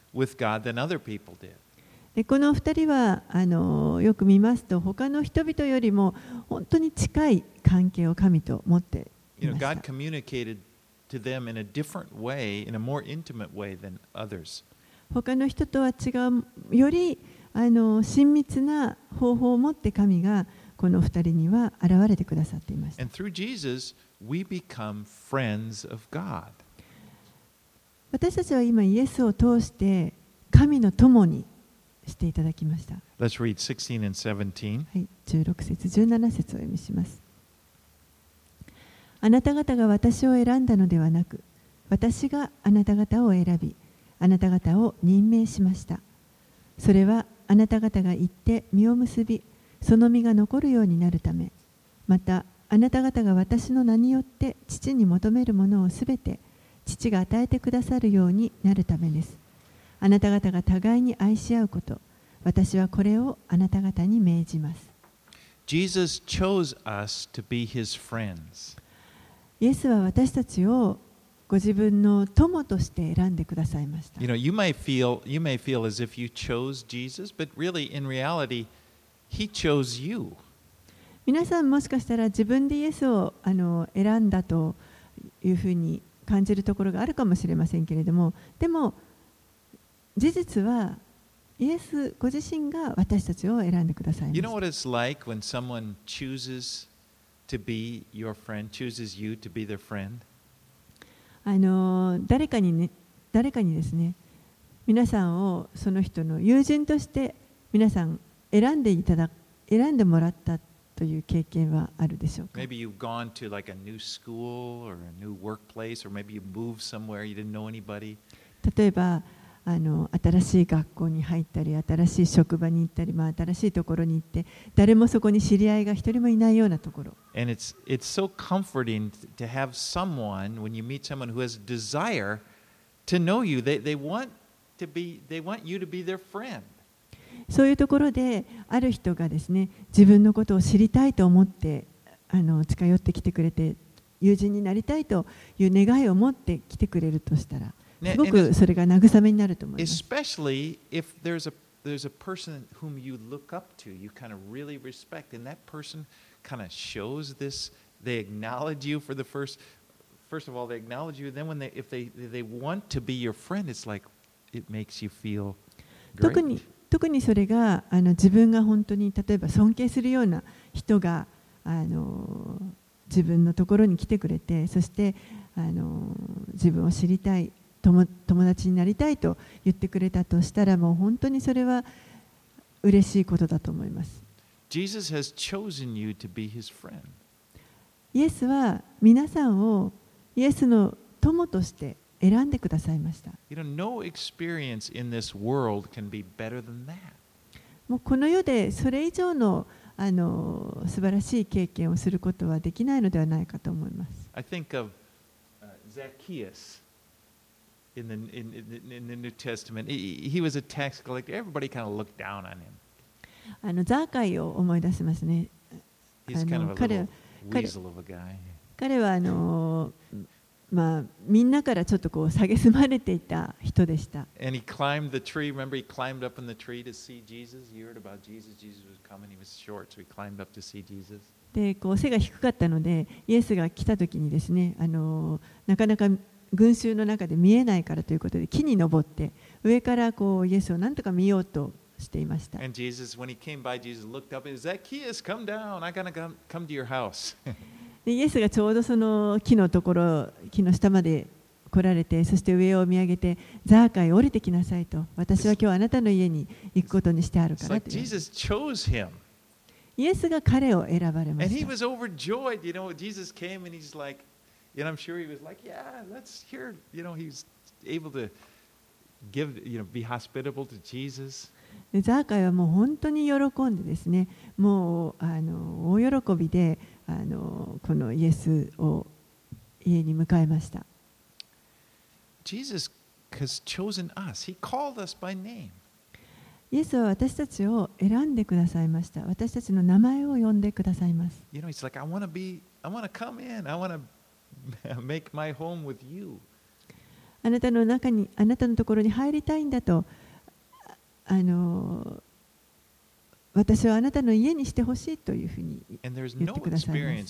B: with God than other people did.
A: でこのふたりはあのよく見ますと他の人々よりも本当に近い関係を神と持ってい
B: You know,
A: ました。
B: God communicated to them in a different way, in a more intimate way than others.
A: 他の人とは違うよりあの親密な方法を持って神がこのふたりには現れてくださっていました。
B: And through Jesus, we become friends of God.
A: 私たちは今イエスを通して神の友にしていただきました。
B: Let's read sixteen and seventeen.
A: はい、じゅうろく節、じゅうなな節をお読みします。あなた方が私を選んだのではなく、私があなた方を選び、あなた方を任命しました。それはあなた方が行って実を結び、その実が残るようになるため、またあなた方が私の名によって父に求めるものをすべて父が与えてくださるようになるためです。あなた方が互いに愛し合うこと、私はこれをあなた方に命じます。
B: Jesus chose us to be his friends.
A: イエスは私たちをご自分の友として選んでくださいました。
B: You know, you may feel you may feel as if you chose Jesus, but really in reality, he chose you.
A: 皆さんもしかしたら自分でイエスをあの選んだというふうに感じるところがあるかもしれませんけれども、でも事実はイエスご自身が私たちを選んでくださいま
B: You
A: し
B: know
A: た。
B: what it's like when someone chooses to be your friend, chooses you to be their friend?
A: あの誰かにね、誰かにですね、皆さんをその人の友人として皆さん選んでいただ、選んでもらったという経験はあるでしょうか。
B: Maybe you've gone to like a new school or a new workplace, or maybe you moved somewhere you didn't know anybody.
A: 例えばあの新しい学校に入ったり、新しい職場に行ったり、まあ、新しいところに行って、誰もそこに知り合いが一人もいないようなところ。
B: And it's it's so comforting to have someone when you meet someone who has a desire to know you. They they want to be they want you to be their friend.
A: そういうところである人がですね、自分のことを知りたいと思ってあの近寄ってきてくれて、友人になりたいという願いを持って来てくれるとしたら、すごくそれが慰めになると思います。
B: Especially if there's a there's a person whom you look up to, you kind of really respect, and that person kind of shows this. They acknowledge you for the first. First of all, they acknowledge you. Then, when they if they they want to be your friend, it's like it makes you feel
A: 特に
B: great.
A: 特にそれがあの自分が本当に例えば尊敬するような人があの自分のところに来てくれて、そしてあの自分を知りたい、友友達になりたいと言ってくれたとしたら、もう本当にそれは嬉しいことだと思います。
B: Jesus has chosen you to be his friend.
A: イエスは皆さんをイエスの友として選んでくださいました。
B: You know, no experience in this world can be better than that.
A: もうこの世でそれ以上のあの素晴らしい経験をすることはできないのではないかと思います。
B: I think of uh, Zacchaeus in the in, in, in the New Testament. He, he was a tax collector. Everybody kind of looked down on him.
A: あのザーカイを思い出しますね。
B: He's
A: あ
B: kind
A: の
B: of a
A: 彼
B: little
A: 彼
B: weasel of a guy.
A: 彼はあの、まあ、みんなからちょっとこう蔑まれていた人でした。
B: And he climbed the tree. Remember, he climbed up in the tree to see Jesus. You heard about Jesus. Jesus was coming. He was short, so he climbed up to see Jesus.
A: でこう背が低かったので、イエスが来た時にですね、あのなかなか群衆の中で見えないからということで木に登って上からこうイエスをなんとか見ようとしていました。
B: And Jesus, when he came by, Jesus looked up and said, Zacchaeus, come down. I'm gonna come, come to your house.
A: でイエスがちょうどその木のところ、木の下まで来られて、そして上を見上げて、ザーカイ降りてきなさいと、私は今日あなたの家に行くことにしてあるか
B: It's
A: ら
B: like
A: という。
B: Jesus chose him.
A: イエスが彼を選ばれま
B: And
A: し
B: he
A: た。
B: was overjoyed. You know, Jesus came and he's like, and I'm sure he was like, yeah, let's hear, you know, he's able to give, you know, be hospitable to Jesus.
A: でザーカイはもう本当に喜んでですね、もうあの大喜びであのこのイエスを家に迎えました。
B: Jesus has chosen us. He called us by name.
A: イエスは私たちを選んでくださいました。私たちの名前を呼んでくださいます。
B: You know, he's like, I want to be, I want to come in. I want to make my home with you.
A: あなたの中に、あなたのところに入りたいんだと、あの私はあなたの家にしてほしいというふうに言ってくださいます。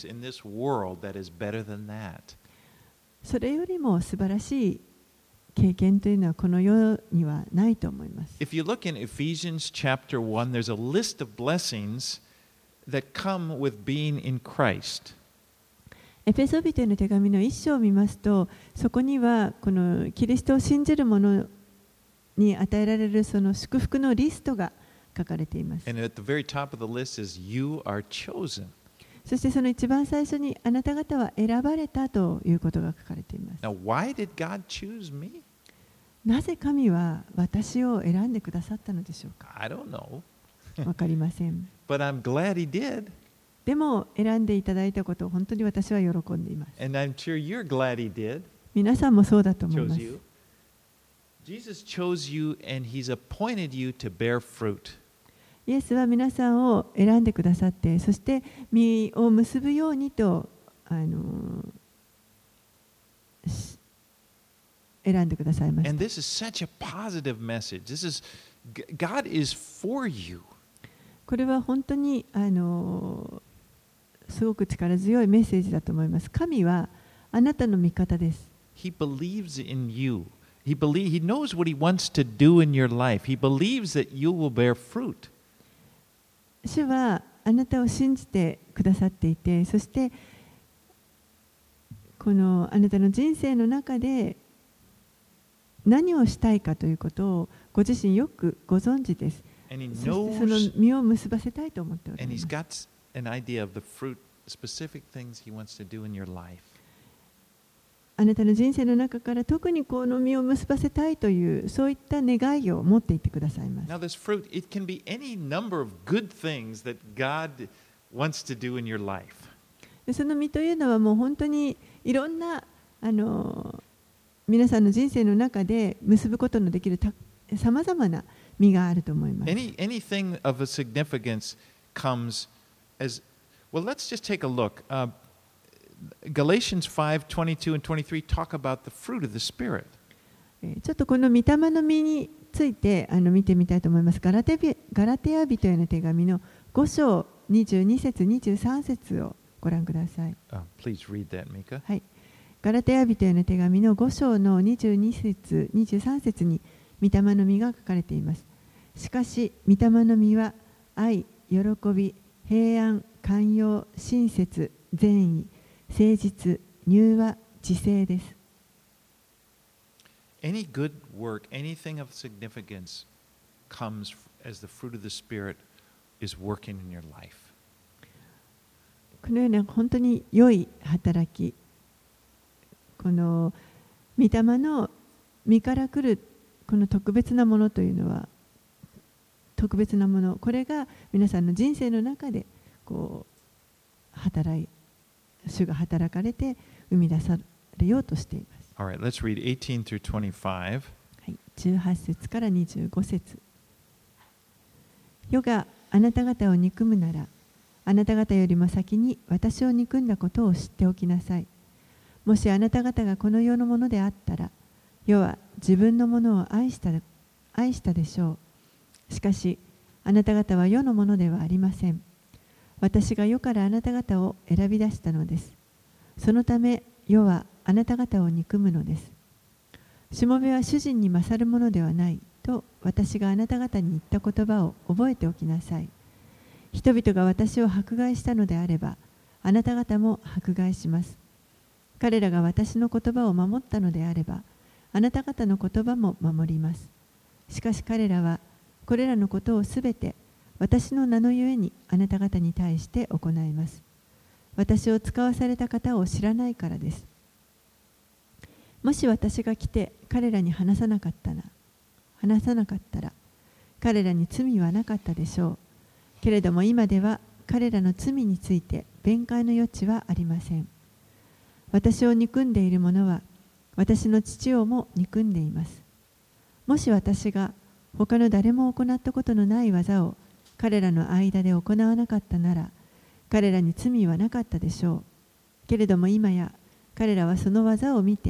A: それよりも素晴らしい経験というのはこの世にはないと思います。
B: If you look in Ephesians chapter one, there's a list of blessings that come with being in Christ.
A: エペソビテの手紙の一章を見ますと、そこにはこのキリストを信じる者に与えられるその祝福のリストが書かれています。
B: And at the very top of the list is you are chosen.
A: そしてその一番最初にあなた方は選ばれたということが書かれています。
B: Now, why did God choose me?
A: なぜ神は私を選んでくださったのでしょうか。
B: I don't know.
A: わかりません。
B: But I'm glad He did.
A: でも選んでいただいたことを本当に私は喜んでいます。
B: And I'm sure you're glad He did.
A: 皆さんもそうだと思いま
B: Chose
A: す。
B: you. Jesus chose you and He's appointed you to bear fruit.
A: イエスは皆さんを選んでくださって、そして実を結ぶようにとあの選んでくださいました。
B: And this is such a positive message. This is God is for you.
A: これは本当にあのすごく力強いメッセージだと思います。神はあなたの味方です。
B: He believes in you. He believe, He knows what He wants to do in your life. He believes that you will bear fruit.
A: 主はあなたを信じてくださっていて、そしてこのあなたの人生の中で何をしたいかということをご自身よくご存知です。
B: And he
A: そしてそ
B: knows,
A: の実を結ばせたいと思っておられ
B: and
A: ま
B: He's
A: す。
B: got an idea of the fruit, specific things He wants to do in your life.
A: あなたの人生の中から特にこの実を結ばせたいというそういった願いを持っていてくださいます。
B: Now, this fruit, it can be any number of good things that God wants to do in your life.
A: でその実というのはもう本当にいろんなあの皆さんの人生の中で結ぶことのできるさまざまな実があると思います。
B: Any, anything of a significance comes as well. Let's just take a look. Uh, Galatians five twenty-two and twenty-three talk about the fruit of the Spirit.
A: ちょっとこの御霊の実についてあの見てみたいと思います。ガラテビガラテヤ人への手紙のご章にじゅうに節にじゅうさん節をご覧ください。
B: Uh, please read that, Mika.
A: はい。ガラテヤ人への手紙のご章のにじゅうに節にじゅうさん節に御霊の実が書かれています。しかし御霊の実は愛、喜び、平安、寛容、親切、善意、誠実、柔和、自制です。
B: Any good work, anything of significance comes as the fruit of the Spirit is working in your life.
A: このような本当に良い働き、この御霊の実から来るこの特別なものというのは特別なもの、これが皆さんの人生の中でこう働い主が働かれて生み出されようとしています。
B: All right, let's read eighteen through twenty-five.
A: はい、じゅうはち節からにじゅうご節。世があなた方を憎むなら、あなた方よりも先に私を憎んだことを知っておきなさい。もしあなた方がこの世のものであったら、世は自分のものを愛した、愛したでしょう。しかし、あなた方は世のものではありません。私が世からあなた方を選び出したのです。そのため、世はあなた方を憎むのです。しもべは主人に勝るものではないと私があなた方に言った言葉を覚えておきなさい。人々が私を迫害したのであれば、あなた方も迫害します。彼らが私の言葉を守ったのであれば、あなた方の言葉も守ります。しかし彼らは、これらのことをすべて私の名のゆえにあなた方に対して行います。私を使わされた方を知らないからです。もし私が来て彼らに話さなかったら、話さなかったら、彼らに罪はなかったでしょう。けれども今では彼らの罪について弁解の余地はありません。私を憎んでいる者は私の父をも憎んでいます。もし私が他の誰も行ったことのない技を彼らの間で行わなかったなら、彼らに罪はなかったでしょう。けれども今や彼らはその技を見て、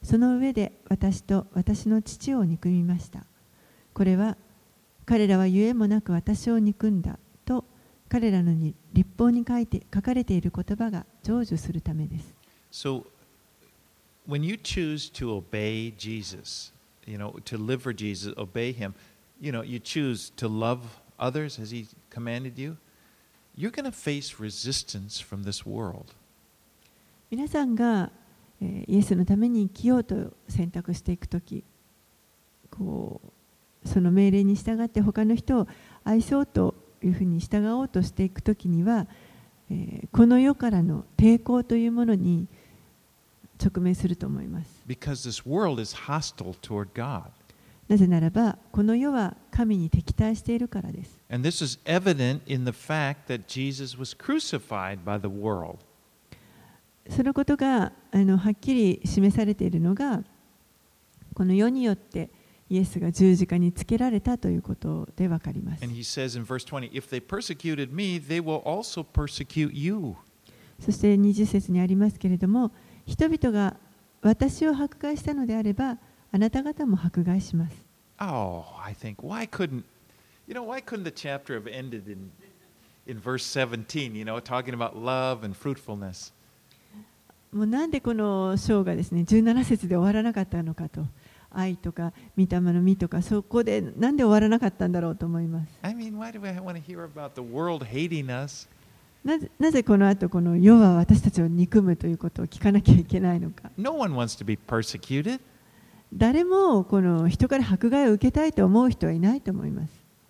A: その上で私と私の父を憎みました。これは彼らはゆえもなく私を憎んだと彼らの律法に書いて書かれている言葉が成就するためです。
B: So, when you choose to obey Jesus, you know, to live for Jesus, obey Him, you know, you choose to love others as He commanded you, you're going to face resistance from this world.
A: 皆さんがイエスのために生きようと選択していくとき、こうその命令に従って他の人を愛そうというふうに従おうとしていくときには、えー、この世からの抵抗というものに直面すると思います。
B: Because this world is hostile toward God.
A: なぜならば、この世は神に敵対しているからです。
B: And this is evident in the fact that Jesus was crucified by the world.
A: そのことがあのはっきり示されているのが、この世によってイエスが十字架につけられたということでわかります。
B: And he says in verse twenty, if they persecuted me, they will also persecute you.
A: そしてにじゅっ節にありますけれども、人々が私を迫害したのであれば、あなた方も迫害します。
B: Oh, I think, why couldn't, you know, why couldn't the chapter have ended in, in verse seventeen, you know, talking about love and fruitfulness?
A: もうなんでこの章がですね、じゅうなな節で終わらなかったのかと。愛とか御霊の実とか、そこでなんで終わらなかったんだろうと思います。
B: I mean, why do I want to hear about the world hating us?
A: なぜ、なぜこの後この世は私たちを憎むということを聞かなきゃいけないのか。
B: No one wants to be persecuted.
A: 誰もこの人から迫害を受けたいと思う人はいないと思います。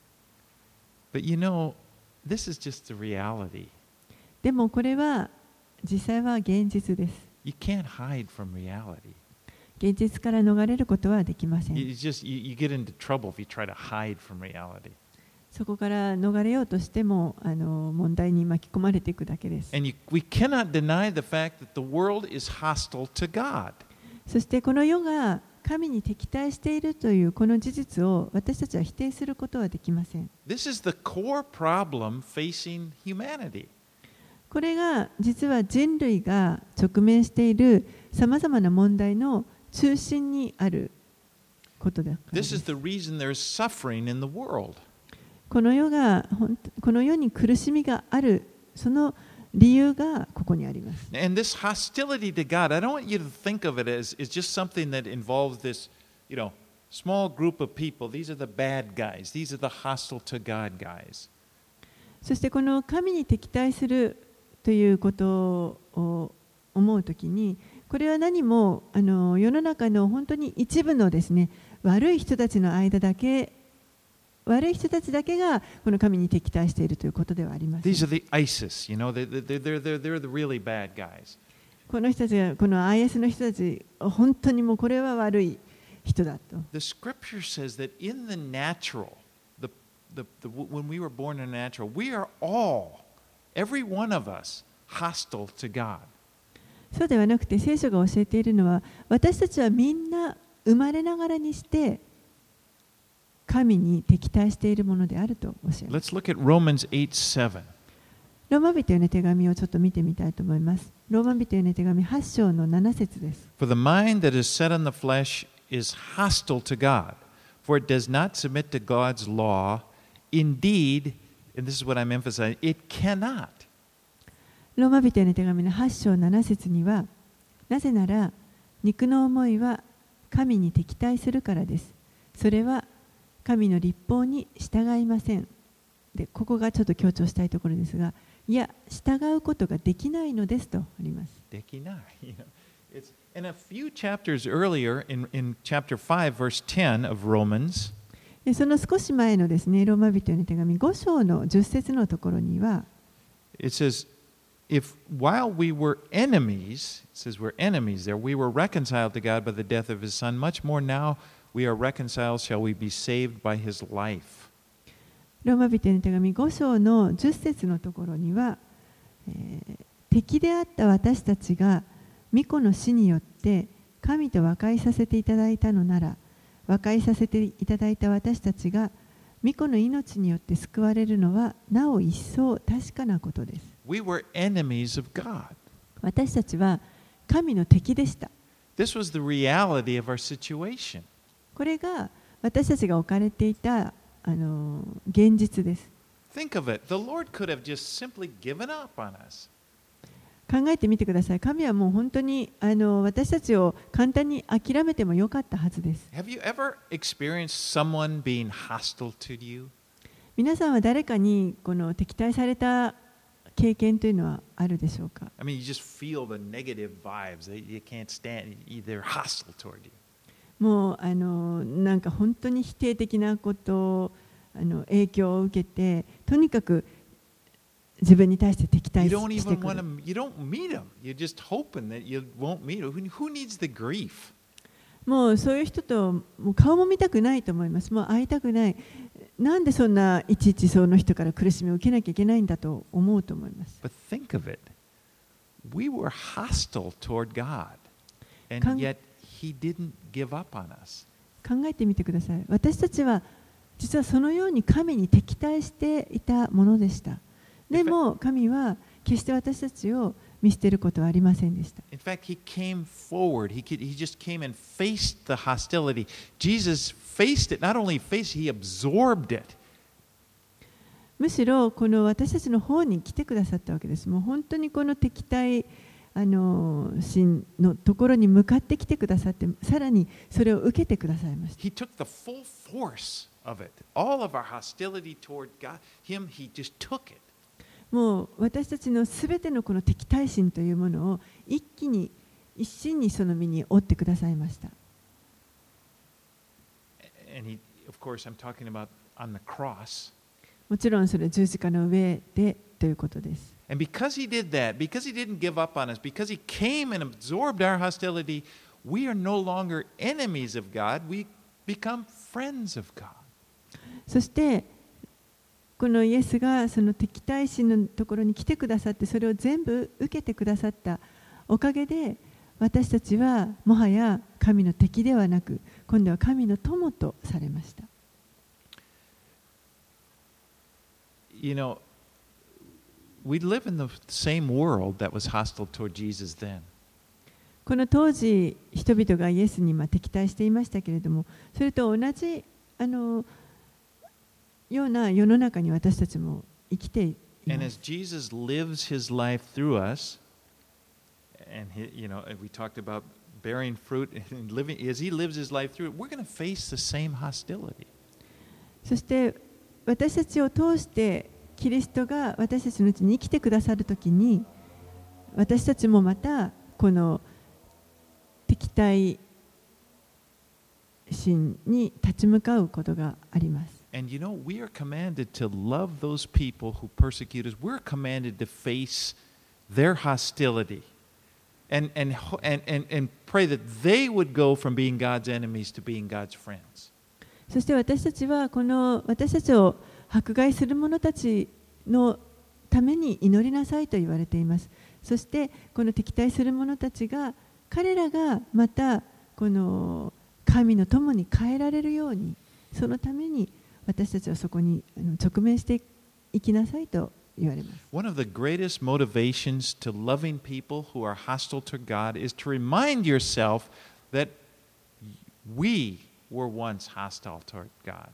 B: But you know, this is just the reality.
A: でもこれは実際は現実です。
B: You can't hide from reality.
A: 現実から逃れることはできません。
B: You just you, you get into trouble if you try to hide from reality.
A: そこから逃れようとしてもあの問題に巻き込まれていくだけです。
B: And you, we cannot deny the fact that the world is hostile to God.
A: そしてこの世が神に敵対しているというこの事実を私たちは否定することはできません。
B: This is the core problem facing humanity.
A: これが実は人類が直面しているさまざまな問題の中心にあることだからです。
B: This is the reason there's suffering in the world.
A: この世がこの世に苦しみがあるその理由がここにあります。
B: And this hostility to God, I don't want you to think of it as, as just something that involves this, you know, small group of people. These are the bad guys. These are the hostile to God guys.
A: そしてこの神に敵対するということを思うときに、これは何もあの世の中の本当に一部のですね、悪い人たちの間だけ、悪い人たちだけがこの神に敵対しているということではありません。
B: These are the ISIS, you know, they're, they're, they're, they're the really bad guys.
A: この人たちが、この アイエス の人たち、本当にもうこれは悪い人だと。
B: The scripture says that in the natural, the, the, the, when we were born in the natural, we are all, every one of us, hostile to God.
A: そうではなくて、聖書が教えているのは、私たちはみんな生まれながらにして神に敵対しているものであると教えます。
B: Let's look at Romans eight seven.
A: ローマ人への手紙をちょっと見てみたいと思います。ローマ人への手紙はち章のなな節です。
B: For the mind that is set on the flesh is hostile to God, for it does not submit to God's law. Indeed, and this is what I'm emphasizing, it cannot.
A: ローマ人への手紙のはち章なな節には、なぜなら肉の思いは神に敵対するからです。それは神の律法に従いません。で、ここがちょっと強調したいところですが、いや、従うことができないのですとあります。
B: できない。You know, it's, and a few chapters earlier, in, in chapter five, verse ten of Romans,
A: でその少し前のですね、ローマ人への手紙ご章のじゅっ節のところには、
B: it says, if while we were enemies, it says we're enemies there, we were reconciled to God by the death of his son, much more now we are reconciled, shall we be saved by his life.
A: ローマ人への手紙ご章のじゅっ節のところには、えー、敵であった私たちが御子の死によって神と和解させていただいたのなら、和解させていただいた私たちが御子の命によって救われるのはなお一層確かなことです。
B: We were enemies of God.
A: 私たちは神の敵でした。
B: This was the reality of our situation.
A: これが私たちが置かれていたあの現実です。
B: Think of it. The Lord could have just simply given up on us.
A: 考えてみてください。神はもう本当にあの私たちを簡単に諦めてもよかったはずです。
B: Have you ever experienced someone being hostile to you?
A: 皆さんは誰かにこの敵対された経験というのはあるでしょうか？
B: I mean, you just feel the negative vibes. You can't stand. They're hostile toward you.
A: もうあのなんか本当に否定的なことあの影響を受けて、とにかく自分に対して敵対
B: You
A: し
B: don't
A: て
B: even
A: く
B: want
A: る。
B: to. You don't meet them. You're just hoping that you won't meet them. Who, who needs the grief?
A: もうそういう人ともう顔も見たくないと思います。もう会いたくない。なんでそんないちいちその人から苦しみを受けなきゃいけないんだと思うと思います。
B: But think of it. We were hostile toward God, and
A: Kan-
B: yet He didn't give up on us.
A: 考えてみてください。私たちは実はそのように神に敵対していたものでした。でも神は決して私たちを見捨てることはありませんでした。
B: In fact, He came forward. He, could, he just came and faced the hostility. Jesus faced it. Not only faced it, He absorbed it.
A: むしろこの私たちの方に来てくださったわけです。もう本当にこの敵対あの心のところに向かってきてくださって、さらにそれを受けてくださいました。
B: He took the full force of it. All of our hostility toward God, Him, He just took it.
A: もう私たちのすべてのこの敵対心というものを一気に一心にその身に負ってくださいました。
B: And He, of course, I'm talking about on the cross.
A: もちろんそれ十字架の上でということです。
B: And because He did that, because He didn't give up on us, because He came and absorbed our hostility, we are no longer enemies of God. We become friends of God.
A: そしてこのイエスがその敵対心のところに来てくださって、それを全部受けてくださったおかげで、私たちはもはや神の敵ではなく、今度は神の友とされました。
B: You know, we live in the same world that was hostile toward Jesus then.
A: この当時、人々がイエスにまあ敵対していましたけれども、それと同じあのような世の中に私たちも生きていま
B: And as
A: す。
B: Jesus lives His life through us, and he, you know, we talked about bearing fruit and living, as He lives His life through it, we're going to face the same hostility.
A: そして私たちを通してキリストが私たちのうちに生きてくださるときに、私たちもまたこの敵対心に立ち向かうことがあります。
B: And you know, we are commanded to love those people who persecute us. We're commanded to face their hostility and, and, and, and, and pray that they would go from being God's enemies to being God's friends.
A: そして私たちはこの私たちを迫害する者たちのために祈りなさいと言われています。そしてこの敵対する者たちが彼らがまたこの神の友に変えられるように、そのために私たちはそこに直面していきなさいと言われます。
B: One of the greatest motivations to loving people who are hostile to God is to remind yourself that we were once hostile toward God.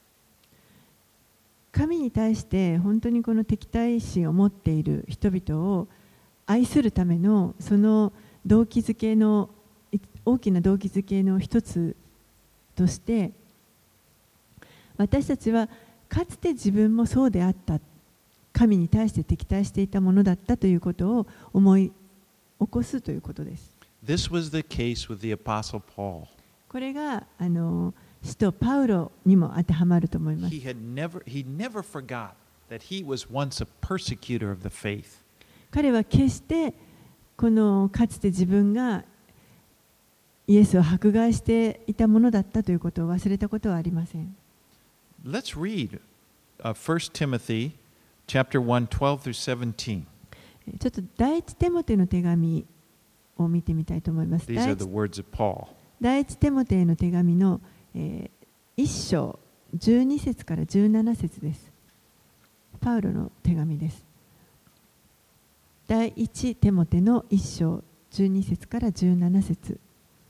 A: 神に対して本当にこの敵対心を持っている人々を愛するためのその動機づけの大きな動機づけの一つとして、私たちはかつて自分もそうであった、神に対して敵対していたものだったということを思い起こすということです。
B: This was the case with the Apostle Paul.
A: これがあの使徒パウロにも当てはまると思います。
B: He had never, he never forgot that he was once a persecutor of the faith.
A: 彼は決してこのかつて自分がイエスを迫害していたものだったということを忘れたことはありません。
B: Let's read uh, First Timothy chapter one, twelve through seventeen.
A: ちょっと第一テモテの手紙を見てみたいと思います。
B: These are the words of Paul.
A: 第一テモテの手紙の、えー、一章じゅうに節からじゅうなな節です。パウロの手紙です。第一テモテの一章じゅうに節からじゅうなな節。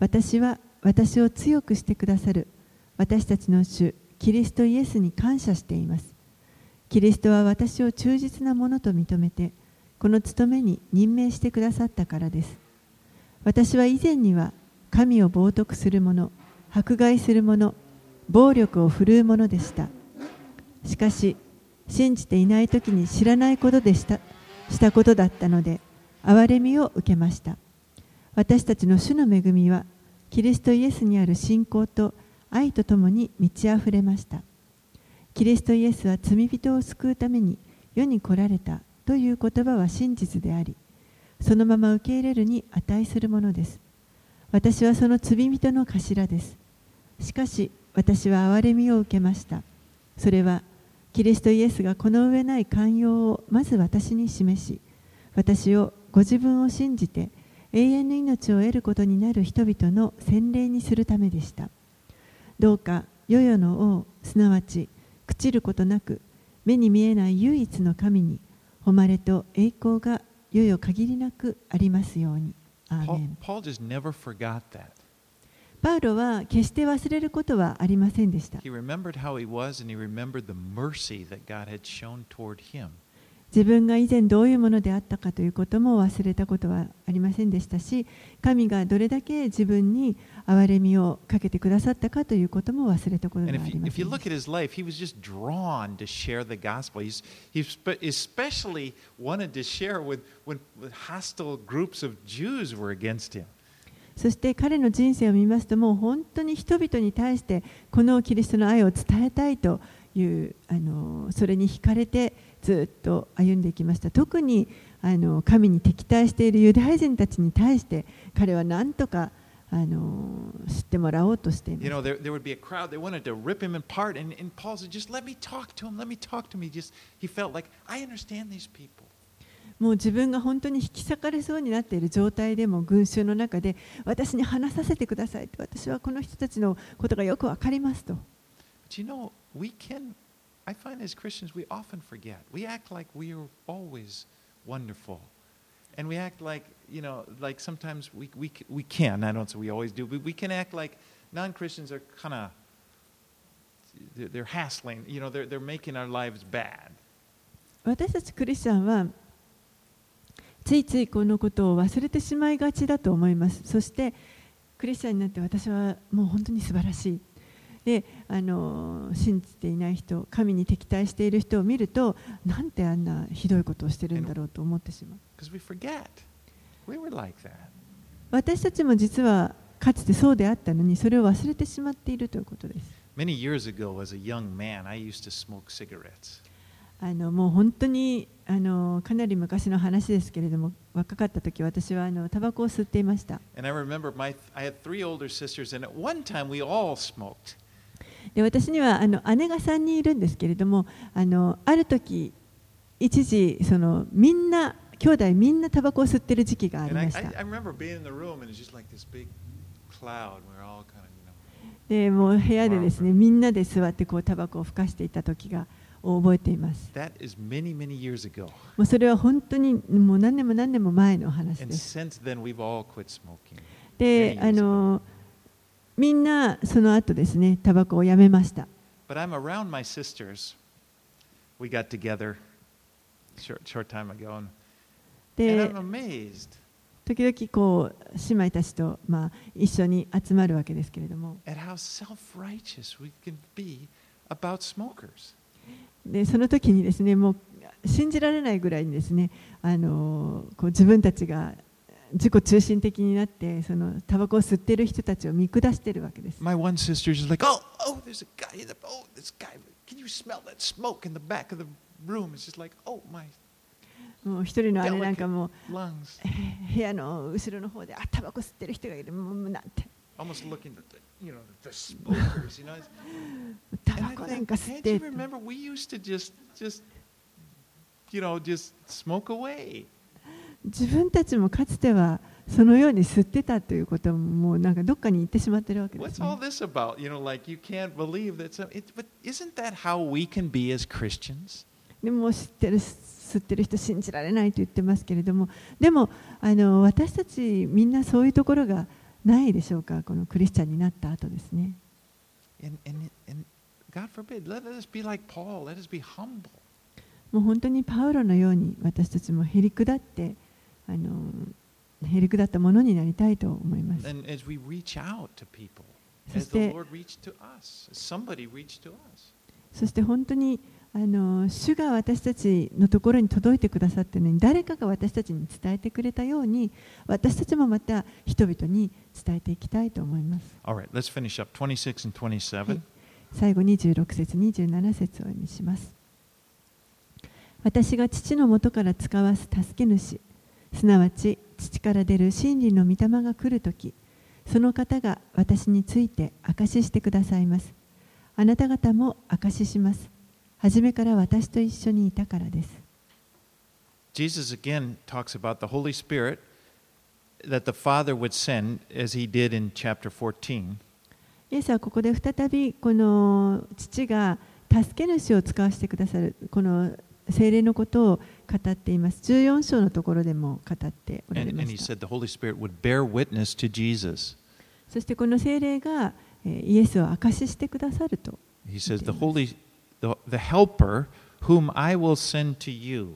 A: 私は私を強くしてくださる私たちの主キリストイエスに感謝しています。キリストは私を忠実なものと認めて、この務めに任命してくださったからです。私は以前には神を冒涜する者、迫害する者、暴力を振るう者でした。しかし、信じていないときに知らないことでした、したことだったので、憐れみを受けました。私たちの主の恵みは、キリストイエスにある信仰と愛とともに満ち溢れました。キリストイエスは罪人を救うために世に来られたという言葉は真実であり、そのまま受け入れるに値するものです。私はその罪人の頭です。しかし、私は憐れみを受けました。それは、キリストイエスがこの上ない寛容をまず私に示し、私をご自分を信じて永遠の命を得ることになる人々の洗礼にするためでした。どうか、世々の王、すなわち、朽ちることなく、目に見えない唯一の神に、誉れと栄光が世々限りなくありますように。アーメン。
B: Paul, Paul just never forgot that.
A: パウロは決して忘れることはありませんでした。
B: He remembered how he was and he remembered the mercy that God had shown toward him.
A: 自分が以前どういうものであったかということも忘れたことはありませんでしたし、神がどれだけ自分に憐れみをかけてくださったかということも忘れたことがあり
B: And
A: ま
B: if
A: せ
B: you,
A: んで
B: if you
A: した。
B: look at his life, he was just drawn to share the gospel. He's, he spe- especially wanted to share with when hostile groups of Jews were against him.
A: そして彼の人生を見ますと、もう本当に人々に対してこのキリストの愛を伝えたいというあのそれに惹かれてずっと歩んでいきました。特にあの神に敵対しているユダヤ人たちに対して彼は何とかあの知ってもらおうとしています。
B: You know, there, there would be a crowd that wanted to rip him apart, and, and Paul said, "Just let me talk to him. Let me talk to him." He just he felt like I understand these people.
A: もう自分が本当に引き裂かれそうになっている状態でも群衆の中で私に話させてくださいと、私はこの人たちのことがよくわかりますと。
B: But you know, we can, I find as Christians, we often forget. We act like we are always wonderful. And we act like, you know, like sometimes we, we, we can, I don't say we always do, but we can act like non-Christians are kind of, they're, they're hassling, you know, they're, they're making our lives bad.
A: 私たちクリスチャンはついついこのことを忘れてしまいがちだと思います。そしてクリスチャンになって私はもう本当に素晴らしい。で、あの信じていない人、神に敵対している人を見ると、なんてあんなひどいことをしてるんだろうと思ってしまう。
B: Because we forget. We were like that.
A: 私たちも実はかつてそうであったのに、それを忘れてしまっているということです。
B: Many years ago, as a young man, I used to smoke cigarettes.
A: あのもう本当にあのかなり昔の話ですけれども、若かった時私はあのタバコを吸っていました。
B: And I remember my, I had three older sisters, and at one time we all smoked.
A: で私にはあの姉がさんにんいるんですけれども、あのある時一時そのみんな兄弟みんなタバコを吸ってる時期があり
B: And I,
A: まし
B: I,
A: た。
B: I remember being in the room, and it's just like this big cloud. We're all kind of, you know.
A: でもう部屋でですね、みんなで座ってこうタバコをふかしていた時が覚えています。
B: That is many, many years ago.
A: もうそれは本当にもう何年も何年も前の話
B: And
A: です。
B: since then, we've all quit smoking.
A: で、あのみんなその後ですね、タバコをやめました。
B: But I'm around my sisters. We got together a short, short time ago, and, and
A: で
B: I'm amazed
A: 時々こう姉妹たちと、まあ、一緒に集まるわけですけれども、
B: at how self-righteous we can be about smokers.
A: でその時にですね、もう信じられないぐらいにですね、あのこう自分たちが自己中心的になってそのタバコを吸っている人たちを見下しているわけです。
B: My one sister is like, oh, oh, there's a guy in the, oh, this guy, can you smell that smoke in the back of the room? It's just like, oh, my
A: もう一人の姉なんか
B: delicate
A: も
B: lungs.
A: 部屋の後ろの方であタバコ吸ってる人がいる、もうなんて
B: Almost looking at the, you know, the smokers, you know.
A: タ
B: And
A: バ
B: I
A: コなん
B: think,
A: か吸っ
B: can't
A: て
B: you remember we used to just, just, you know, just smoke away.
A: 自分たちもかつてはそのように吸ってたということももうなんかどっかに行ってしまっているわけです
B: What's
A: ね。
B: all this about? You know, like you can't believe that. Some, it, but isn't that how we can be as Christians?
A: でも知ってる吸ってる人信じられないと言ってますけれども、でもあの私たちみんなそういうところがないでしょうか、このクリスチャンになった後ですね。
B: And, and, and God forbid, let us be like Paul, let us be humble.
A: もう本当にパウロのように私たちもへりくだってあのへりくだったものになりたいと思います。
B: And as we reach out to people,
A: そ
B: as
A: し
B: the
A: て
B: Lord reached to us, as somebody reached to us.
A: そして本当にあの主が私たちのところに届いてくださっているのに、誰かが私たちに伝えてくれたように、私たちもまた人々に伝えていきたいと思います。
B: All right, let's finish up twenty-six and
A: は
B: twenty-seven.
A: い、最後にじゅうろく節にじゅうなな節を読みします。私が父のもとから使わす助け主、すなわち父から出る真理の御霊が来るとき、その方が私について証ししてくださいます。あなた方も証しします。はじめから私と一緒にいたからです。
B: Jesus again talks about the Holy Spirit that the Father would send as he did in chapter fourteen.
A: イエスはここで再びこの父が助け主を使わせてくださるこの聖霊のことを語っています。じゅうよん章のところでも語っておられ
B: And,
A: ま
B: and he
A: した。
B: said the Holy Spirit would bear witness to Jesus.
A: そしてこの聖霊がえーイエスを証ししてくださると
B: He
A: 言
B: says,
A: ってい
B: the
A: ます。
B: Holy, the, the Helper whom I will send to you.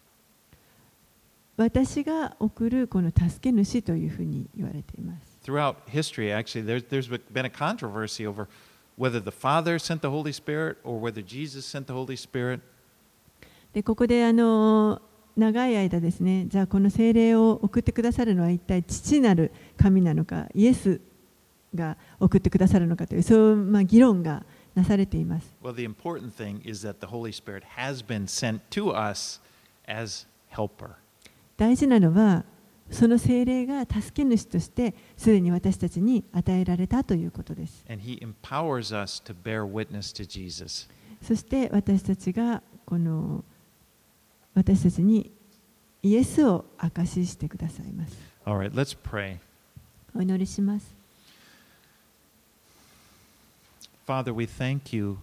A: 私が送るこの助け主というふうに言われています。
B: Throughout history, actually, there's, there's been a controversy over whether the Father sent the Holy Spirit or whether Jesus sent the Holy Spirit.
A: でここであの長い間ですね、じゃあこの聖霊を送ってくださるのは一体父なる神なのか、イエスが送ってくださるのかという、そういうまあ議論がなされています。
B: Well, the important thing is that the Holy Spirit has been sent to us as helper.
A: 大事なのは、その聖霊が助け主としてすでに私たちに与えられたということです。
B: And he empowers us to bear witness to Jesus.
A: そして私たちがこの私たちにイエスを証ししてくださいます。
B: All right, let's pray.
A: お祈りします。
B: Father, we thank you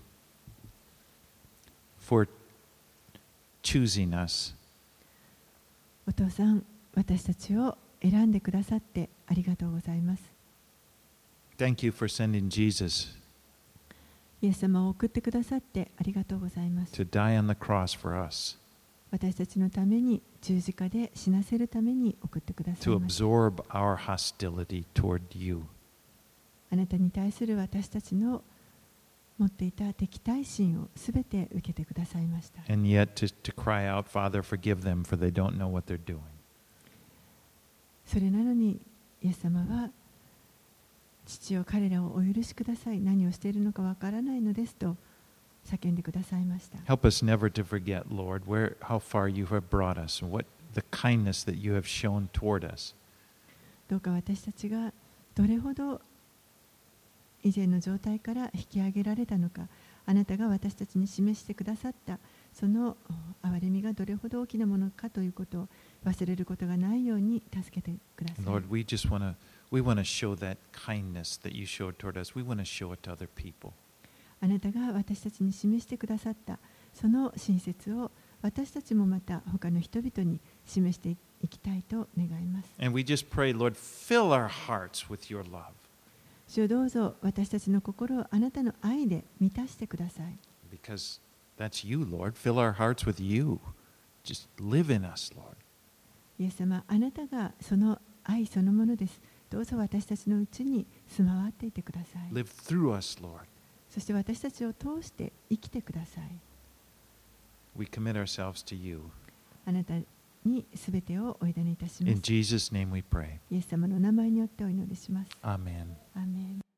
B: for choosing us.
A: お父さん、私たちを選んでくださってありがとうございます。
B: Thank you for sending Jesus
A: イエス様を送ってくださってありがとうございます。
B: to die on the cross for us,
A: 私たちのために十字架で死なせるために送ってください
B: to
A: ます。
B: absorb our hostility toward you.
A: あなたに対する私たちの持っていた敵対心をすべて受けてくださいました。
B: And yet to, to cry out, Father, forgive them, for they don't know what they're doing.
A: それなのに、イエス様は、父よ彼らをお許しください。何をしているのかわからないのですと叫んでくださいました。
B: Help us never to forget, Lord, where, how far you have brought us, and what the kindness that you have shown toward us.
A: どうか私たちがどれほど以前の状態から引き上げられたのか、あなたが私たちに示してくださったその憐れみがどれほど大きなものかということを忘れることがないように助けてください。
B: Lord, we just want to we want to show that kindness that you showed toward us. We want to show it to other people.
A: あなたが私たちに示してくださったその親切を私たちもまた他の人々に示していきたいと願います。
B: And we just pray, Lord, fill our hearts with your love.
A: 主よどうぞ私たちの心をあなたの愛で満たしてください。
B: Because that's you, Lord. Fill our hearts with you. Just live in us, Lord.
A: イエス様、あなたがその愛そのものです。どうぞ私たちのうちに住まわっていてください。
B: Live through us, Lord.
A: そして私たちを通して生きてください。
B: We commit ourselves to you.
A: あなたにすべてをお委ねいたしま
B: In
A: す。
B: Jesus' name we pray.
A: イエス様の名前によってお祈りします。
B: Amen.
A: アーメン。